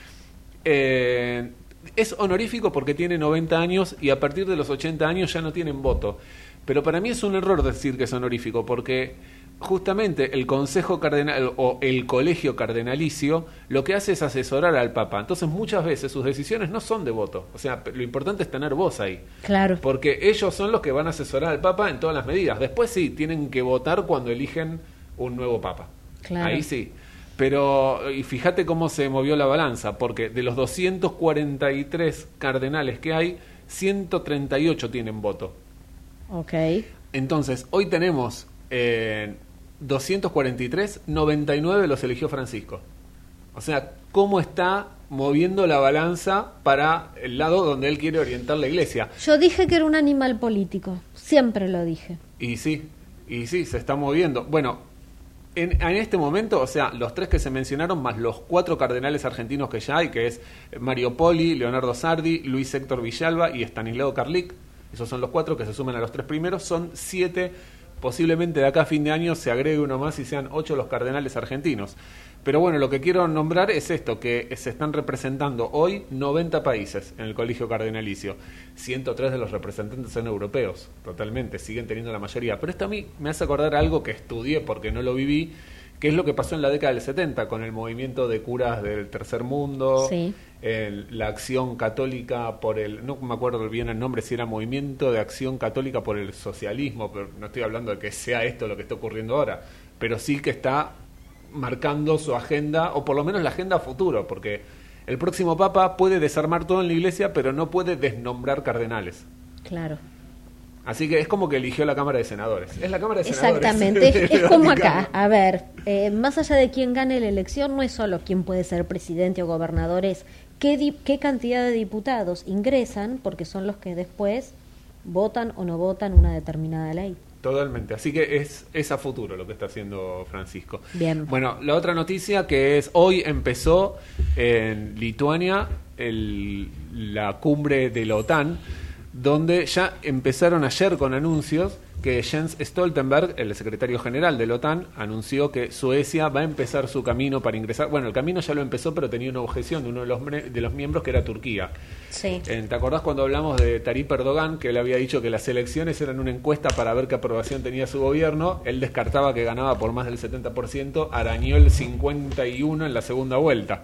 Eh, es honorífico porque tiene noventa años y a partir de los ochenta años ya no tienen voto. Pero para mí es un error decir que es honorífico, porque justamente el Consejo Cardenal o el Colegio Cardenalicio lo que hace es asesorar al Papa. Entonces muchas veces sus decisiones no son de voto. O sea, lo importante es tener voz ahí. Claro. Porque ellos son los que van a asesorar al Papa en todas las medidas. Después sí, tienen que votar cuando eligen un nuevo Papa. Claro. Ahí sí. Pero, y fíjate cómo se movió la balanza, porque de los doscientos cuarenta y tres cardenales que hay, ciento treinta y ocho tienen voto. Ok. Entonces, hoy tenemos eh, doscientos cuarenta y tres, noventa y nueve los eligió Francisco. O sea, cómo está moviendo la balanza para el lado donde él quiere orientar la iglesia. Yo dije que era un animal político, siempre lo dije. Y sí, y sí, se está moviendo. Bueno, En, en este momento, o sea, los tres que se mencionaron, más los cuatro cardenales argentinos que ya hay, que es Mario Poli, Leonardo Sardi, Luis Héctor Villalba y Estanislao Carlic, esos son los cuatro que se suman a los tres primeros, son siete, posiblemente de acá a fin de año se agregue uno más y sean ocho los cardenales argentinos. Pero bueno, lo que quiero nombrar es esto, que se están representando hoy noventa países en el Colegio Cardenalicio. ciento tres de los representantes son europeos, totalmente, siguen teniendo la mayoría. Pero esto a mí me hace acordar algo que estudié porque no lo viví, que es lo que pasó en la década del setenta con el movimiento de curas del tercer mundo, Sí. el- la acción católica por el, no me acuerdo bien el nombre, si era Movimiento de Acción Católica por el Socialismo, pero no estoy hablando de que sea esto lo que está ocurriendo ahora, pero sí que está marcando su agenda, o por lo menos la agenda a futuro, porque el próximo Papa puede desarmar todo en la Iglesia, pero no puede desnombrar cardenales. Claro. Así que es como que eligió la Cámara de Senadores. Es la Cámara de Senadores. Exactamente, es, del es como Vaticano. acá. A ver, eh, más allá de quién gane la elección, no es solo quién puede ser presidente o gobernador, es qué, di- qué cantidad de diputados ingresan, porque son los que después votan o no votan una determinada ley. Totalmente. Así que es, es a futuro lo que está haciendo Francisco. Bien. Bueno, la otra noticia que es hoy empezó en Lituania el, la cumbre de la OTAN, donde ya empezaron ayer con anuncios que Jens Stoltenberg, el secretario general de la OTAN, anunció que Suecia va a empezar su camino para ingresar. Bueno, el camino ya lo empezó, pero tenía una objeción de uno de los, mre- de los miembros, que era Turquía. Sí. Eh, ¿Te acordás cuando hablamos de Tayyip Erdogan, que él había dicho que las elecciones eran una encuesta para ver qué aprobación tenía su gobierno? Él descartaba que ganaba por más del setenta por ciento, arañó el cincuenta y uno por ciento en la segunda vuelta.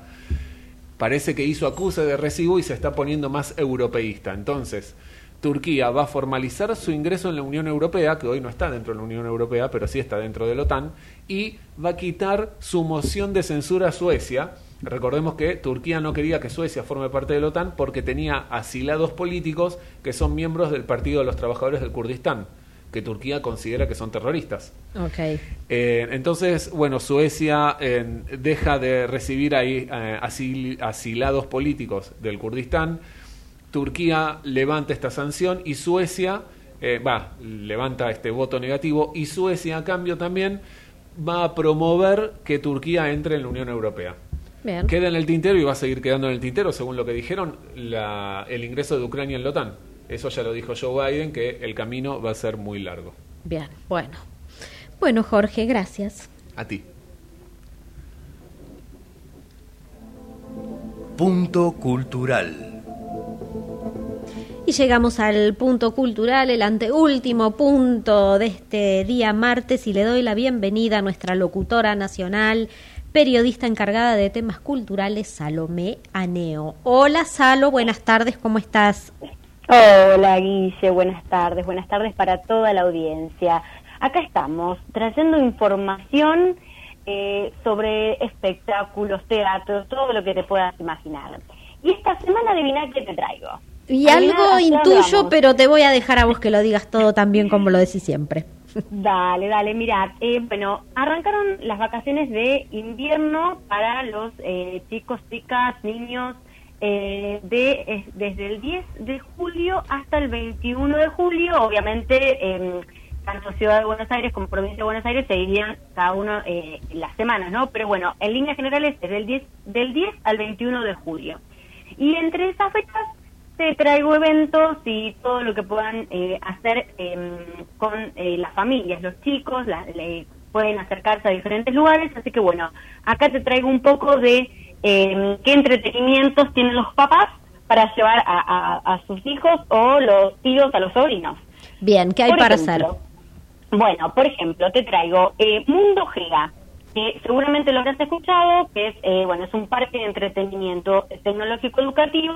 Parece que hizo acuse de recibo y se está poniendo más europeísta. Entonces, Turquía va a formalizar su ingreso en la Unión Europea, que hoy no está dentro de la Unión Europea, pero sí está dentro de la OTAN, y va a quitar su moción de censura a Suecia. Recordemos que Turquía no quería que Suecia forme parte de la OTAN porque tenía asilados políticos que son miembros del Partido de los Trabajadores del Kurdistán, que Turquía considera que son terroristas. Ok. Eh, entonces, bueno, Suecia eh, deja de recibir ahí eh, asil- asilados políticos del Kurdistán. Turquía levanta esta sanción y Suecia eh, va levanta este voto negativo, y Suecia a cambio también va a promover que Turquía entre en la Unión Europea. Bien. Queda en el tintero y va a seguir quedando en el tintero, según lo que dijeron, la, el ingreso de Ucrania en la OTAN. Eso ya lo dijo Joe Biden, que el camino va a ser muy largo. Bien, bueno. Bueno, Jorge, gracias. A ti. Punto cultural. Y llegamos al punto cultural, el anteúltimo punto de este día martes, y le doy la bienvenida a nuestra locutora nacional, periodista encargada de temas culturales, Salomé Aneo. Hola, Salo, buenas tardes, ¿cómo estás? Hola, Guille, buenas tardes, buenas tardes para toda la audiencia. Acá estamos, trayendo información eh, sobre espectáculos, teatro, todo lo que te puedas imaginar. Y esta semana, adivina qué te traigo. Y Adivina algo hacia dónde intuyo, vamos. pero te voy a dejar a vos que lo digas todo tan bien como lo decís siempre. Dale, dale, mirad, eh, bueno, arrancaron las vacaciones de invierno para los eh, chicos, chicas, niños, eh, de eh, desde el diez de julio hasta el veintiuno de julio. Obviamente, eh, tanto Ciudad de Buenos Aires como Provincia de Buenos Aires se dividían cada uno eh, las semanas, ¿no? Pero bueno, en líneas generales es del diez, del diez al veintiuno de julio. Y entre esas fechas te traigo eventos y todo lo que puedan eh, hacer eh, con eh, las familias, los chicos, la, le, pueden acercarse a diferentes lugares, así que bueno, acá te traigo un poco de eh, qué entretenimientos tienen los papás para llevar a, a, a sus hijos o los tíos a los sobrinos. Bien, ¿qué hay Por para ejemplo, hacer? Bueno, por ejemplo, te traigo eh, Mundo Gea, que seguramente lo habrás escuchado, que es eh, bueno es un parque de entretenimiento tecnológico educativo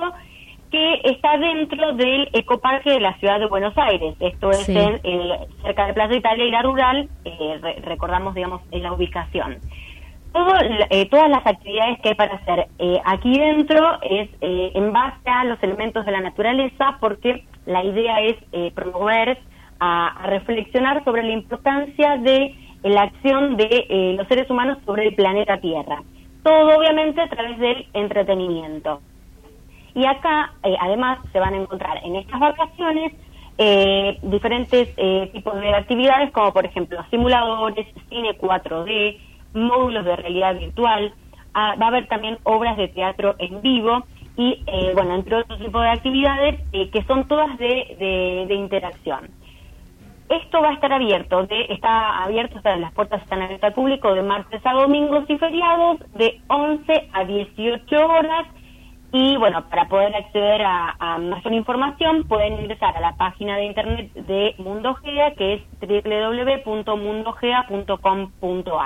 que está dentro del Ecoparque de la Ciudad de Buenos Aires. Esto es Sí. en el, cerca de Plaza Italia y la Rural, eh, re- recordamos, digamos, en la ubicación. Todo, eh, todas las actividades que hay para hacer eh, aquí dentro es eh, en base a los elementos de la naturaleza, porque la idea es eh, promover, a, a reflexionar sobre la importancia de eh, la acción de eh, los seres humanos sobre el planeta Tierra. Todo obviamente a través del entretenimiento. Y acá, eh, además, se van a encontrar en estas vacaciones eh, diferentes eh, tipos de actividades, como por ejemplo simuladores, cine cuatro D, módulos de realidad virtual, ah, va a haber también obras de teatro en vivo y, eh, bueno, entre otros tipos de actividades eh, que son todas de, de, de interacción. Esto va a estar abierto, de, está abierto, o sea, las puertas están abiertas al público de martes a domingos y feriados, de once a dieciocho horas. Y bueno, para poder acceder a, a mayor información pueden ingresar a la página de internet de Mundo Gea, que es doble u doble u doble u punto mundo gea punto com punto a r.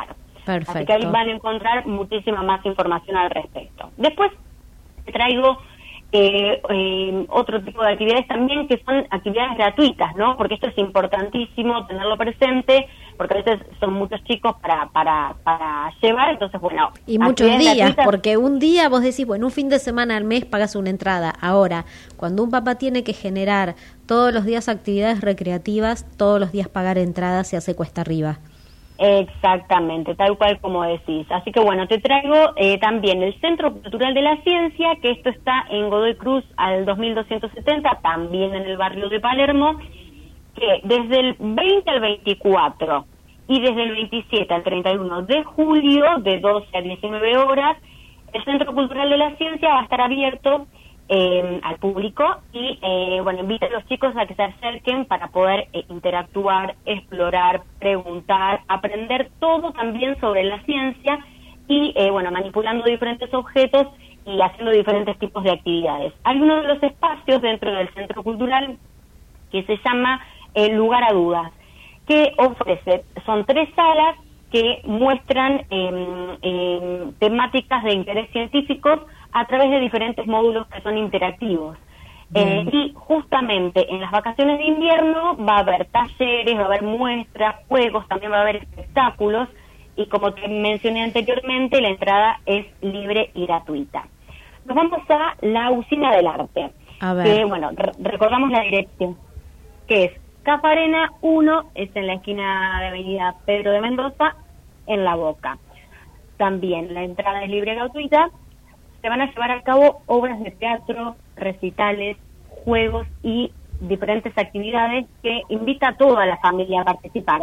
Perfecto. Así que ahí van a encontrar muchísima más información al respecto. Después te traigo eh, eh, otro tipo de actividades también, que son actividades gratuitas, ¿no? Porque esto es importantísimo tenerlo presente, porque a veces son muchos chicos para para para llevar, entonces bueno. Y muchos días, gratuitas, porque un día vos decís, bueno, un fin de semana al mes pagas una entrada. Ahora, cuando un papá tiene que generar todos los días actividades recreativas, todos los días pagar entradas se hace cuesta arriba. Exactamente, tal cual como decís. Así que bueno, te traigo eh, también el Centro Cultural de la Ciencia, que esto está en Godoy Cruz al dos mil doscientos setenta, también en el barrio de Palermo, que desde el veinte al veinticuatro y desde el veintisiete al treinta y uno de julio, de doce a diecinueve horas, el Centro Cultural de la Ciencia va a estar abierto Eh, al público y eh, bueno, invita a los chicos a que se acerquen para poder eh, interactuar, explorar, preguntar, aprender todo también sobre la ciencia y eh, bueno, manipulando diferentes objetos y haciendo diferentes tipos de actividades. Hay uno de los espacios dentro del Centro Cultural que se llama eh, Lugar a Dudas, que ofrece, son tres salas que muestran eh, eh, temáticas de interés científico a través de diferentes módulos que son interactivos. Eh, y justamente en las vacaciones de invierno va a haber talleres, va a haber muestras, juegos, también va a haber espectáculos, y como te mencioné anteriormente, la entrada es libre y gratuita. Nos vamos a la Usina del Arte, A ver. que bueno, re- recordamos la dirección, que es Cafarena uno, es en la esquina de Avenida Pedro de Mendoza, en La Boca. También la entrada es libre y gratuita. Se van a llevar a cabo obras de teatro, recitales, juegos y diferentes actividades que invita a toda la familia a participar.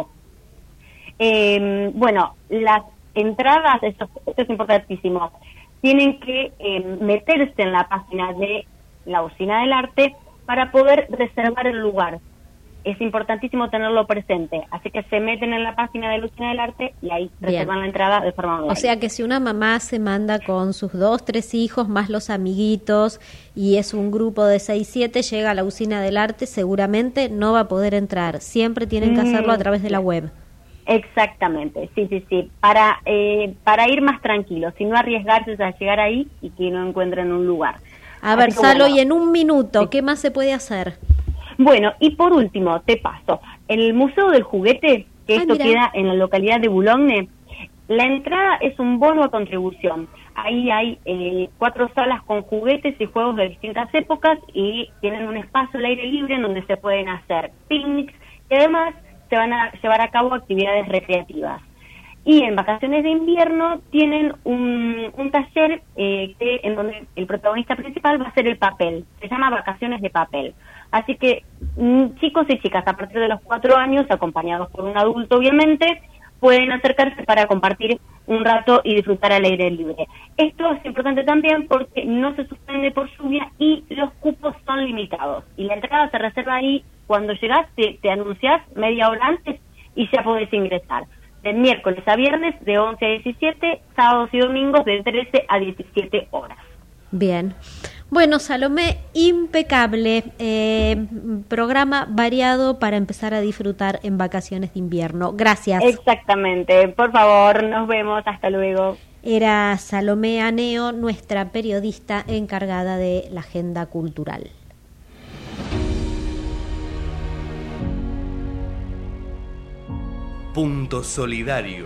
Eh, bueno, las entradas, esto, esto es importantísimo, tienen que eh, meterse en la página de la Usina del Arte para poder reservar el lugar. Es importantísimo tenerlo presente, así que se meten en la página de la Usina del Arte y ahí Bien. reservan la entrada de forma online. O sea que si una mamá se manda con sus dos, tres hijos, más los amiguitos, y es un grupo de seis, siete, llega a la Usina del Arte, seguramente no va a poder entrar. Siempre tienen que hacerlo a través de la web. Exactamente, sí, sí, sí, para eh, para ir más tranquilos, y no arriesgarse a llegar ahí y que no encuentren un lugar. A ver, Así que, Salo, bueno, y en un minuto, ¿qué más se puede hacer? Bueno, y por último, te paso, el Museo del Juguete, que Ay, esto mira. queda en la localidad de Boulogne, la entrada es un bono a contribución. Ahí hay eh, cuatro salas con juguetes y juegos de distintas épocas y tienen un espacio al aire libre en donde se pueden hacer picnics y además se van a llevar a cabo actividades recreativas. Y en vacaciones de invierno tienen un, un taller eh, que en donde el protagonista principal va a ser el papel. Se llama Vacaciones de Papel. Así que mm, chicos y chicas a partir de los cuatro años, acompañados por un adulto obviamente, pueden acercarse para compartir un rato y disfrutar al aire libre. Esto es importante también porque no se suspende por lluvia y los cupos son limitados. Y la entrada se reserva ahí cuando llegás, te, te anunciás media hora antes y ya podés ingresar. De miércoles a viernes de once a diecisiete, sábados y domingos de trece a diecisiete horas. Bien. Bueno, Salomé, impecable. Eh, programa variado para empezar a disfrutar en vacaciones de invierno. Gracias. Exactamente. Por favor, nos vemos. Hasta luego. Era Salomé Aneo, nuestra periodista encargada de la agenda cultural. Punto Solidario.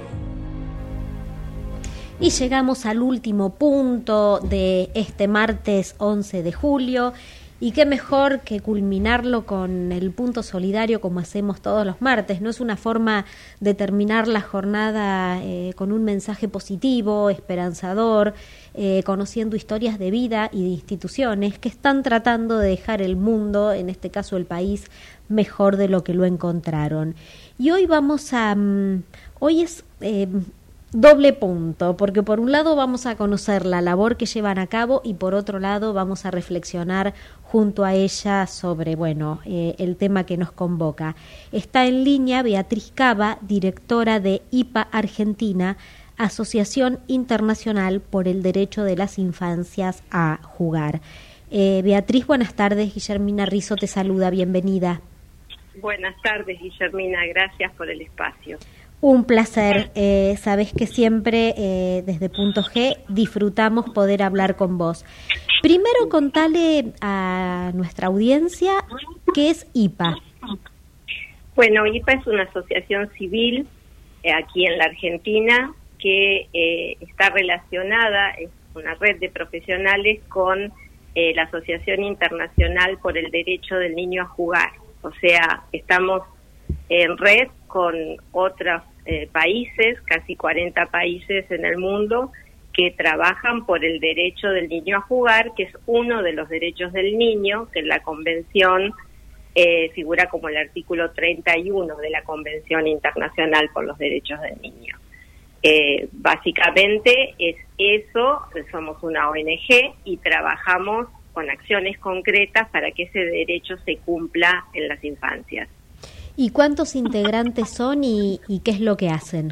Y llegamos al último punto de este martes once de julio, y qué mejor que culminarlo con el punto solidario como hacemos todos los martes. No es una forma de terminar la jornada eh, con un mensaje positivo, esperanzador, eh, conociendo historias de vida y de instituciones que están tratando de dejar el mundo, en este caso el país, mejor de lo que lo encontraron. Y hoy vamos a... Um, hoy es... Eh, doble punto, porque por un lado vamos a conocer la labor que llevan a cabo y por otro lado vamos a reflexionar junto a ella sobre, bueno, eh, el tema que nos convoca. Está en línea Beatriz Cava, directora de I P A Argentina, Asociación Internacional por el Derecho de las Infancias a Jugar. Eh, Beatriz, buenas tardes. Guillermina Rizzo te saluda, bienvenida. Buenas tardes, Guillermina, gracias por el espacio. Un placer, eh, sabés que siempre eh, desde Punto G disfrutamos poder hablar con vos. Primero contale a nuestra audiencia qué es I P A. Bueno, I P A es una asociación civil eh, aquí en la Argentina que eh, está relacionada, es una red de profesionales con eh, la Asociación Internacional por el Derecho del Niño a Jugar. O sea, estamos en red con otros eh, países, casi cuarenta países en el mundo, que trabajan por el derecho del niño a jugar, que es uno de los derechos del niño, que en la Convención eh, figura como el artículo treinta y uno de la Convención Internacional por los Derechos del Niño. Eh, básicamente es eso, somos una O N G y trabajamos con acciones concretas para que ese derecho se cumpla en las infancias. ¿Y cuántos integrantes son y, y qué es lo que hacen?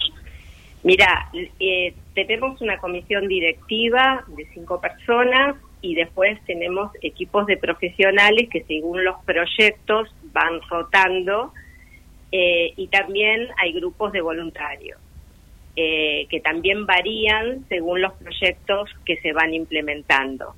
Mira, eh, tenemos una comisión directiva de cinco personas y después tenemos equipos de profesionales que según los proyectos van rotando eh, y también hay grupos de voluntarios eh, que también varían según los proyectos que se van implementando.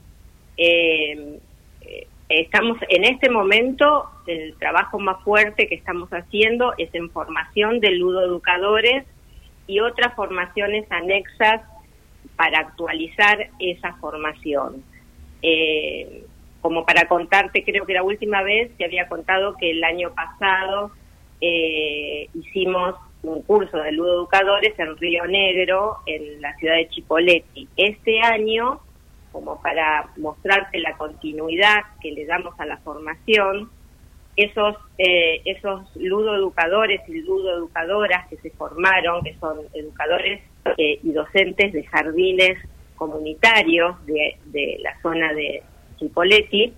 Eh, eh, Estamos en este momento, el trabajo más fuerte que estamos haciendo es en formación de ludoeducadores y otras formaciones anexas para actualizar esa formación. Eh, como para contarte, creo que la última vez te había contado que el año pasado eh, hicimos un curso de ludoeducadores en Río Negro, en la ciudad de Chipoleti. Este año, como para mostrarte la continuidad que le damos a la formación, esos eh, esos ludoeducadores y ludoeducadoras que se formaron, que son educadores eh, y docentes de jardines comunitarios de, de la zona de Chipoleti,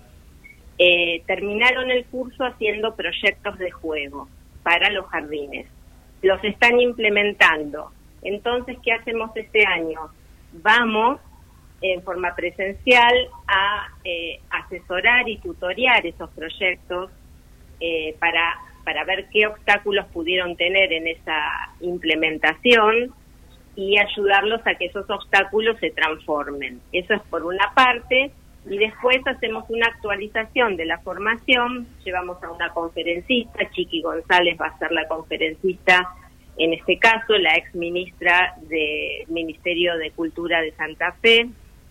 eh, terminaron el curso haciendo proyectos de juego para los jardines. Los están implementando. Entonces, ¿qué hacemos este año? Vamos en forma presencial a eh, asesorar y tutorear esos proyectos eh, para, para ver qué obstáculos pudieron tener en esa implementación y ayudarlos a que esos obstáculos se transformen. Eso es por una parte, y después hacemos una actualización de la formación, llevamos a una conferencista, Chiqui González va a ser la conferencista, en este caso la ex ministra del Ministerio de Cultura de Santa Fe.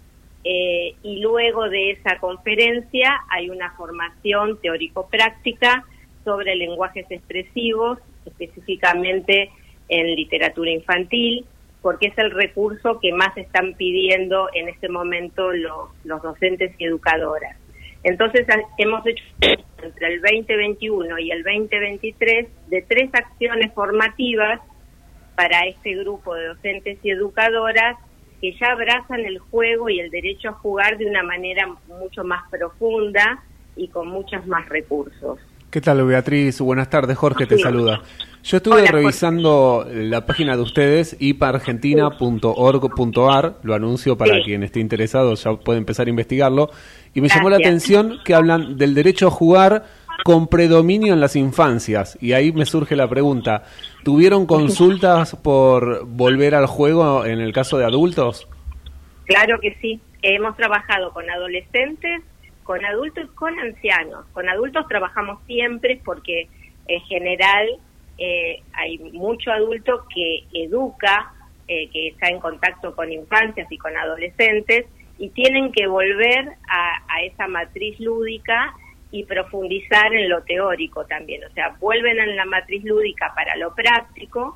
Eh, y luego de esa conferencia hay una formación teórico-práctica sobre lenguajes expresivos, específicamente en literatura infantil, porque es el recurso que más están pidiendo en este momento los, los docentes y educadoras. Entonces hemos hecho entre el veinte veintiuno y el veinte veintitrés de tres acciones formativas para este grupo de docentes y educadoras que ya abrazan el juego y el derecho a jugar de una manera mucho más profunda y con muchos más recursos. ¿Qué tal, Beatriz? Buenas tardes, Jorge te Sí. saluda. Yo estuve Hola, revisando la página de ustedes, i p a argentina punto org punto a r, lo anuncio para Sí. quien esté interesado, ya puede empezar a investigarlo, y me llamó la Gracias. atención que hablan del derecho a jugar con predominio en las infancias, y ahí me surge la pregunta, ¿tuvieron consultas por volver al juego en el caso de adultos? Claro que sí, hemos trabajado con adolescentes, con adultos, con ancianos. Con adultos trabajamos siempre porque en general eh, hay mucho adulto que educa, eh, que está en contacto con infancias y con adolescentes y tienen que volver a, a esa matriz lúdica y profundizar en lo teórico también. O sea, vuelven a la matriz lúdica para lo práctico,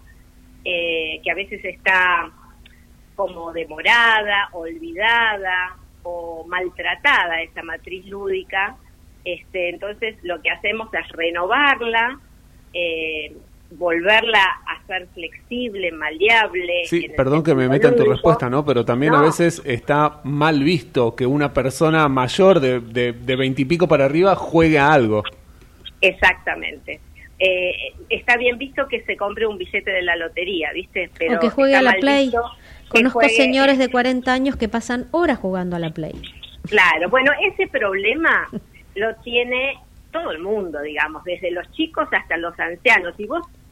eh, que a veces está como demorada, olvidada o maltratada esa matriz lúdica. Este, entonces lo que hacemos es renovarla, eh, volverla a ser flexible, maleable. Sí, perdón que me meta en tu respuesta, ¿no? Pero también No. a veces está mal visto que una persona mayor de de de veintipico para arriba juegue a algo. Exactamente. Eh, está bien visto que se compre un billete de la lotería, ¿viste? Pero o que juegue está a la mal Play. visto que Conozco juegue- señores de cuarenta años que pasan horas jugando a la Play. Claro, bueno, ese problema lo tiene todo el mundo, digamos, desde los chicos hasta los ancianos. Y vos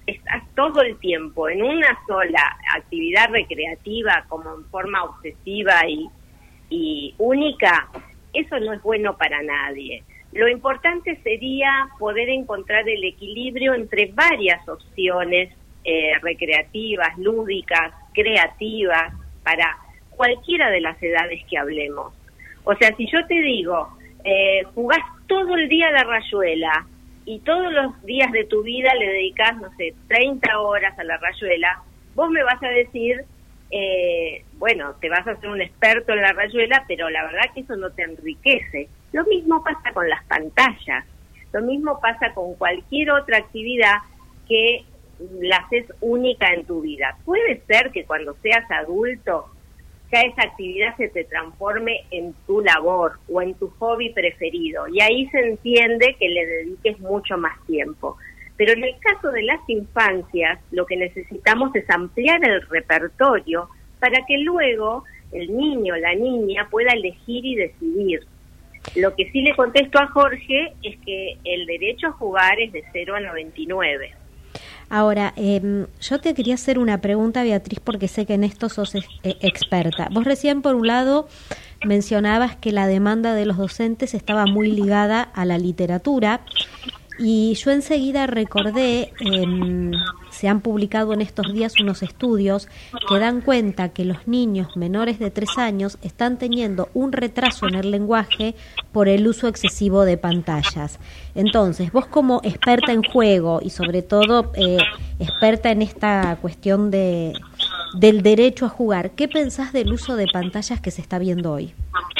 estás todo el tiempo en una sola actividad recreativa como en forma obsesiva y, y única, eso no es bueno para nadie. Lo importante sería poder encontrar el equilibrio entre varias opciones eh, recreativas, lúdicas, creativas, para cualquiera de las edades que hablemos. O sea, si yo te digo, eh, jugás todo el día a la rayuela y todos los días de tu vida le dedicás, no sé, treinta horas a la rayuela, vos me vas a decir, eh, bueno, te vas a hacer un experto en la rayuela, pero la verdad que eso no te enriquece. Lo mismo pasa con las pantallas, lo mismo pasa con cualquier otra actividad que la haces única en tu vida. Puede ser que cuando seas adulto ya esa actividad se te transforme en tu labor o en tu hobby preferido, y ahí se entiende que le dediques mucho más tiempo. Pero en el caso de las infancias, lo que necesitamos es ampliar el repertorio para que luego el niño o la niña pueda elegir y decidir. Lo que sí le contesto a Jorge es que el derecho a jugar es de cero a noventa y nueve. Ahora, eh, yo te quería hacer una pregunta, Beatriz, porque sé que en esto sos ex- eh, experta. Vos recién, por un lado, mencionabas que la demanda de los docentes estaba muy ligada a la literatura, y yo enseguida recordé, eh, se han publicado en estos días unos estudios que dan cuenta que los niños menores de tres años están teniendo un retraso en el lenguaje por el uso excesivo de pantallas. Entonces, vos como experta en juego y sobre todo eh, experta en esta cuestión de del derecho a jugar, ¿qué pensás del uso de pantallas que se está viendo hoy?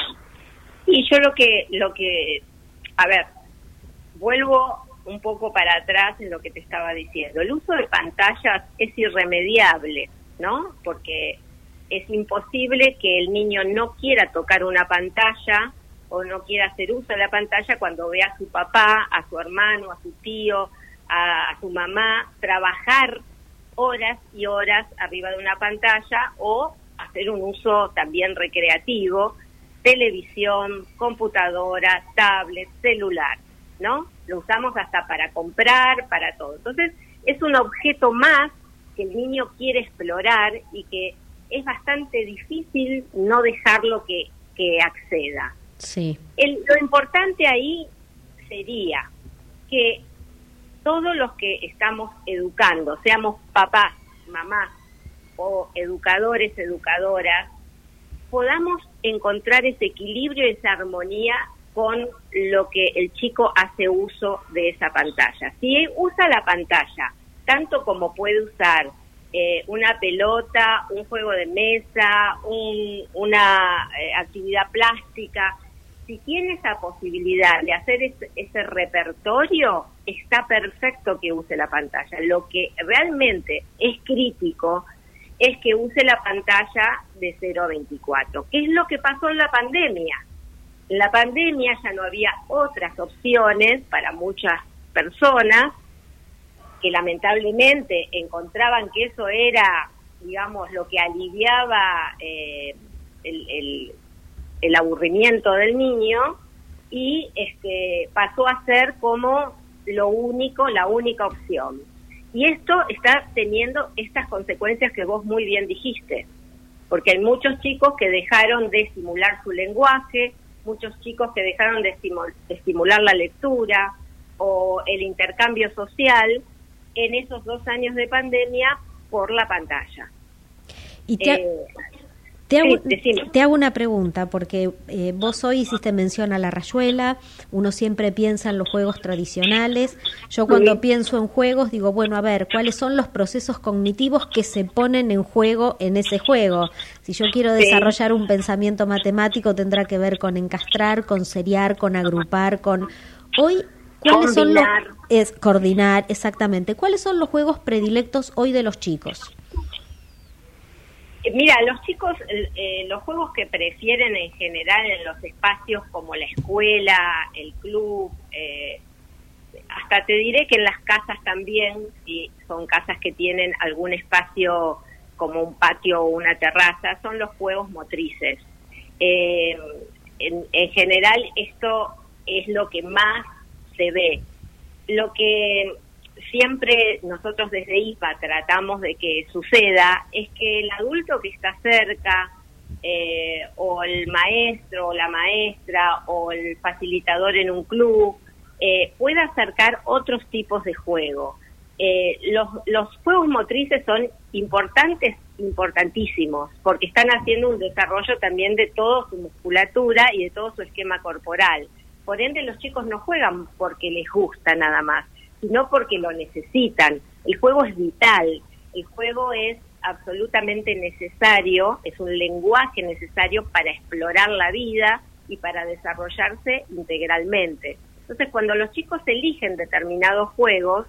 Y yo lo que, lo que, a ver, vuelvo un poco para atrás en lo que te estaba diciendo. El uso de pantallas es irremediable, ¿no? Porque es imposible que el niño no quiera tocar una pantalla o no quiera hacer uso de la pantalla cuando ve a su papá, a su hermano, a su tío, a, a su mamá trabajar horas y horas arriba de una pantalla, o hacer un uso también recreativo, televisión, computadora, tablet, celular, ¿no? Lo usamos hasta para comprar, para todo. Entonces, es un objeto más que el niño quiere explorar y que es bastante difícil no dejarlo que, que acceda. Sí. El, lo importante ahí sería que todos los que estamos educando, seamos papás, mamás o educadores, educadoras, podamos encontrar ese equilibrio, esa armonía con lo que el chico hace uso de esa pantalla. Si usa la pantalla tanto como puede usar eh, una pelota, un juego de mesa, un, una eh, actividad plástica, si tiene esa posibilidad de hacer ese, ese repertorio, está perfecto que use la pantalla. Lo que realmente es crítico es que use la pantalla de cero a veinticuatro. ¿Qué es lo que pasó en la pandemia? En la pandemia ya no había otras opciones para muchas personas que lamentablemente encontraban que eso era, digamos, lo que aliviaba eh, el, el, el aburrimiento del niño, y este pasó a ser como lo único, la única opción. Y esto está teniendo estas consecuencias que vos muy bien dijiste, porque hay muchos chicos que dejaron de estimular su lenguaje, muchos chicos que dejaron de, estimul- de estimular la lectura o el intercambio social en esos dos años de pandemia por la pantalla. Y te, eh, te, hago, sí, te hago una pregunta, porque eh, vos hoy hiciste mención a la rayuela, uno siempre piensa en los juegos tradicionales. Yo cuando sí. pienso en juegos digo, bueno, a ver, ¿cuáles son los procesos cognitivos que se ponen en juego en ese juego? Si yo quiero sí. desarrollar un pensamiento matemático, tendrá que ver con encastrar, con seriar, con agrupar, con... Hoy, ¿cuáles coordinar. son los... Es coordinar, exactamente. ¿Cuáles son los juegos predilectos hoy de los chicos? Mira, los chicos, eh, los juegos que prefieren en general en los espacios como la escuela, el club, eh, hasta te diré que en las casas también, si son casas que tienen algún espacio como un patio o una terraza, son los juegos motrices. Eh, en, en general esto es lo que más se ve. Lo que siempre nosotros desde I P A tratamos de que suceda es que el adulto que está cerca, eh, o el maestro o la maestra o el facilitador en un club, eh, pueda acercar otros tipos de juego. Eh, los, los juegos motrices son importantes, importantísimos, porque están haciendo un desarrollo también de toda su musculatura y de todo su esquema corporal. Por ende, los chicos no juegan porque les gusta nada más, sino porque lo necesitan. El juego es vital, el juego es absolutamente necesario, es un lenguaje necesario para explorar la vida y para desarrollarse integralmente. Entonces, cuando los chicos eligen determinados juegos,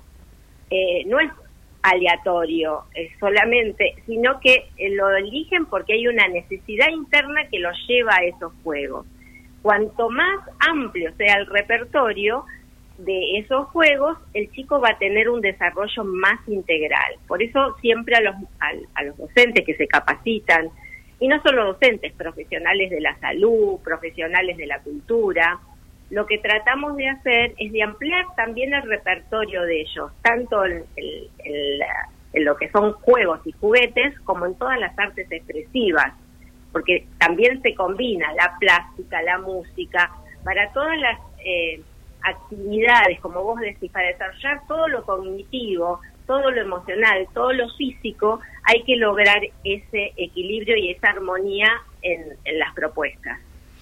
eh, no es aleatorio, es solamente, sino que eh, lo eligen porque hay una necesidad interna que los lleva a esos juegos. Cuanto más amplio sea el repertorio de esos juegos, el chico va a tener un desarrollo más integral. Por eso siempre a los, a, a los docentes que se capacitan, y no solo docentes, profesionales de la salud, profesionales de la cultura, lo que tratamos de hacer es de ampliar también el repertorio de ellos, tanto en, en, en, la, en lo que son juegos y juguetes, como en todas las artes expresivas, porque también se combina la plástica, la música, para todas las eh, actividades, como vos decís, para desarrollar todo lo cognitivo, todo lo emocional, todo lo físico, hay que lograr ese equilibrio y esa armonía en, en las propuestas.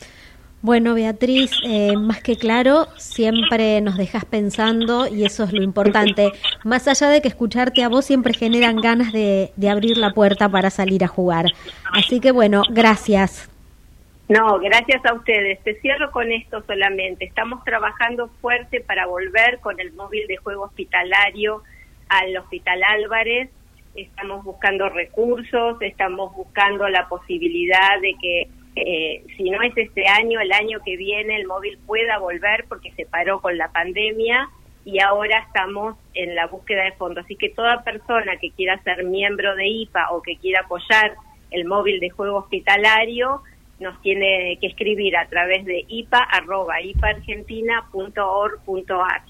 Bueno, Beatriz, eh, más que claro, siempre nos dejas pensando y eso es lo importante. Más allá de que escucharte a vos siempre generan ganas de, de abrir la puerta para salir a jugar. Así que bueno, gracias. No, gracias a ustedes. Te cierro con esto solamente. Estamos trabajando fuerte para volver con el móvil de juego hospitalario al Hospital Álvarez. Estamos buscando recursos, estamos buscando la posibilidad de que Eh, si no es este año, el año que viene el móvil pueda volver porque se paró con la pandemia y ahora estamos en la búsqueda de fondos. Así que toda persona que quiera ser miembro de I P A o que quiera apoyar el móvil de juego hospitalario nos tiene que escribir a través de ipa arroba ipargentina punto org punto ar.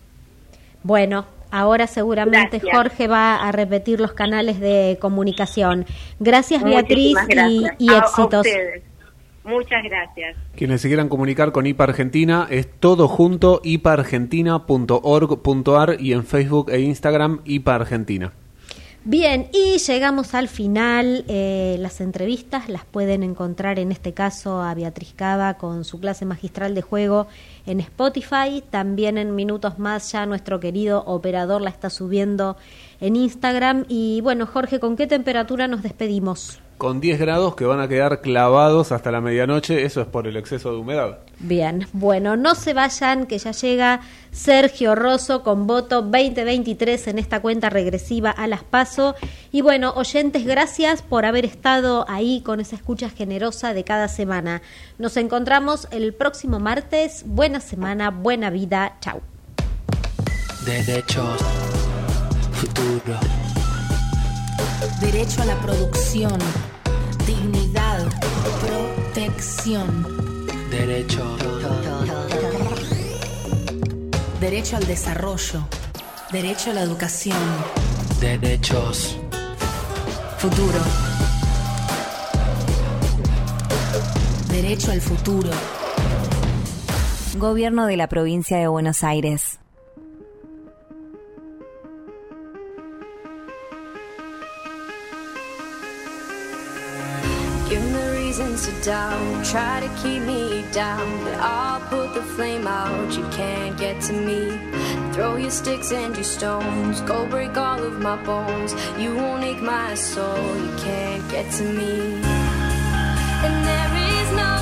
Bueno, ahora seguramente Gracias. Jorge va a repetir los canales de comunicación. Gracias, Beatriz, gracias. Y, y éxitos. A, a ustedes. Muchas gracias. Quienes se quieran comunicar con I P A Argentina es todo junto, ipargentina punto org punto ar y en Facebook e Instagram I P A Argentina. Bien, y llegamos al final. Eh, las entrevistas las pueden encontrar en este caso a Beatriz Cava con su clase magistral de juego en Spotify. También en minutos más ya nuestro querido operador la está subiendo en Instagram. Y bueno, Jorge, ¿con qué temperatura nos despedimos? Con diez grados que van a quedar clavados hasta la medianoche, eso es por el exceso de humedad. Bien, bueno, no se vayan, que ya llega Sergio Rosso con voto veinte veintitrés en esta cuenta regresiva a las PASO. Y bueno, oyentes, gracias por haber estado ahí con esa escucha generosa de cada semana. Nos encontramos el próximo martes. Buena semana, buena vida, chau. Derechos, futuro. Derecho a la producción, dignidad, protección. Derecho. Derecho al desarrollo, derecho a la educación. Derechos. Futuro. Derecho al futuro. Gobierno de la Provincia de Buenos Aires. To doubt, try to keep me down, but I'll put the flame out. You can't get to me. Throw your sticks and your stones, go break all of my bones. You won't ache my soul. You can't get to me. And there is no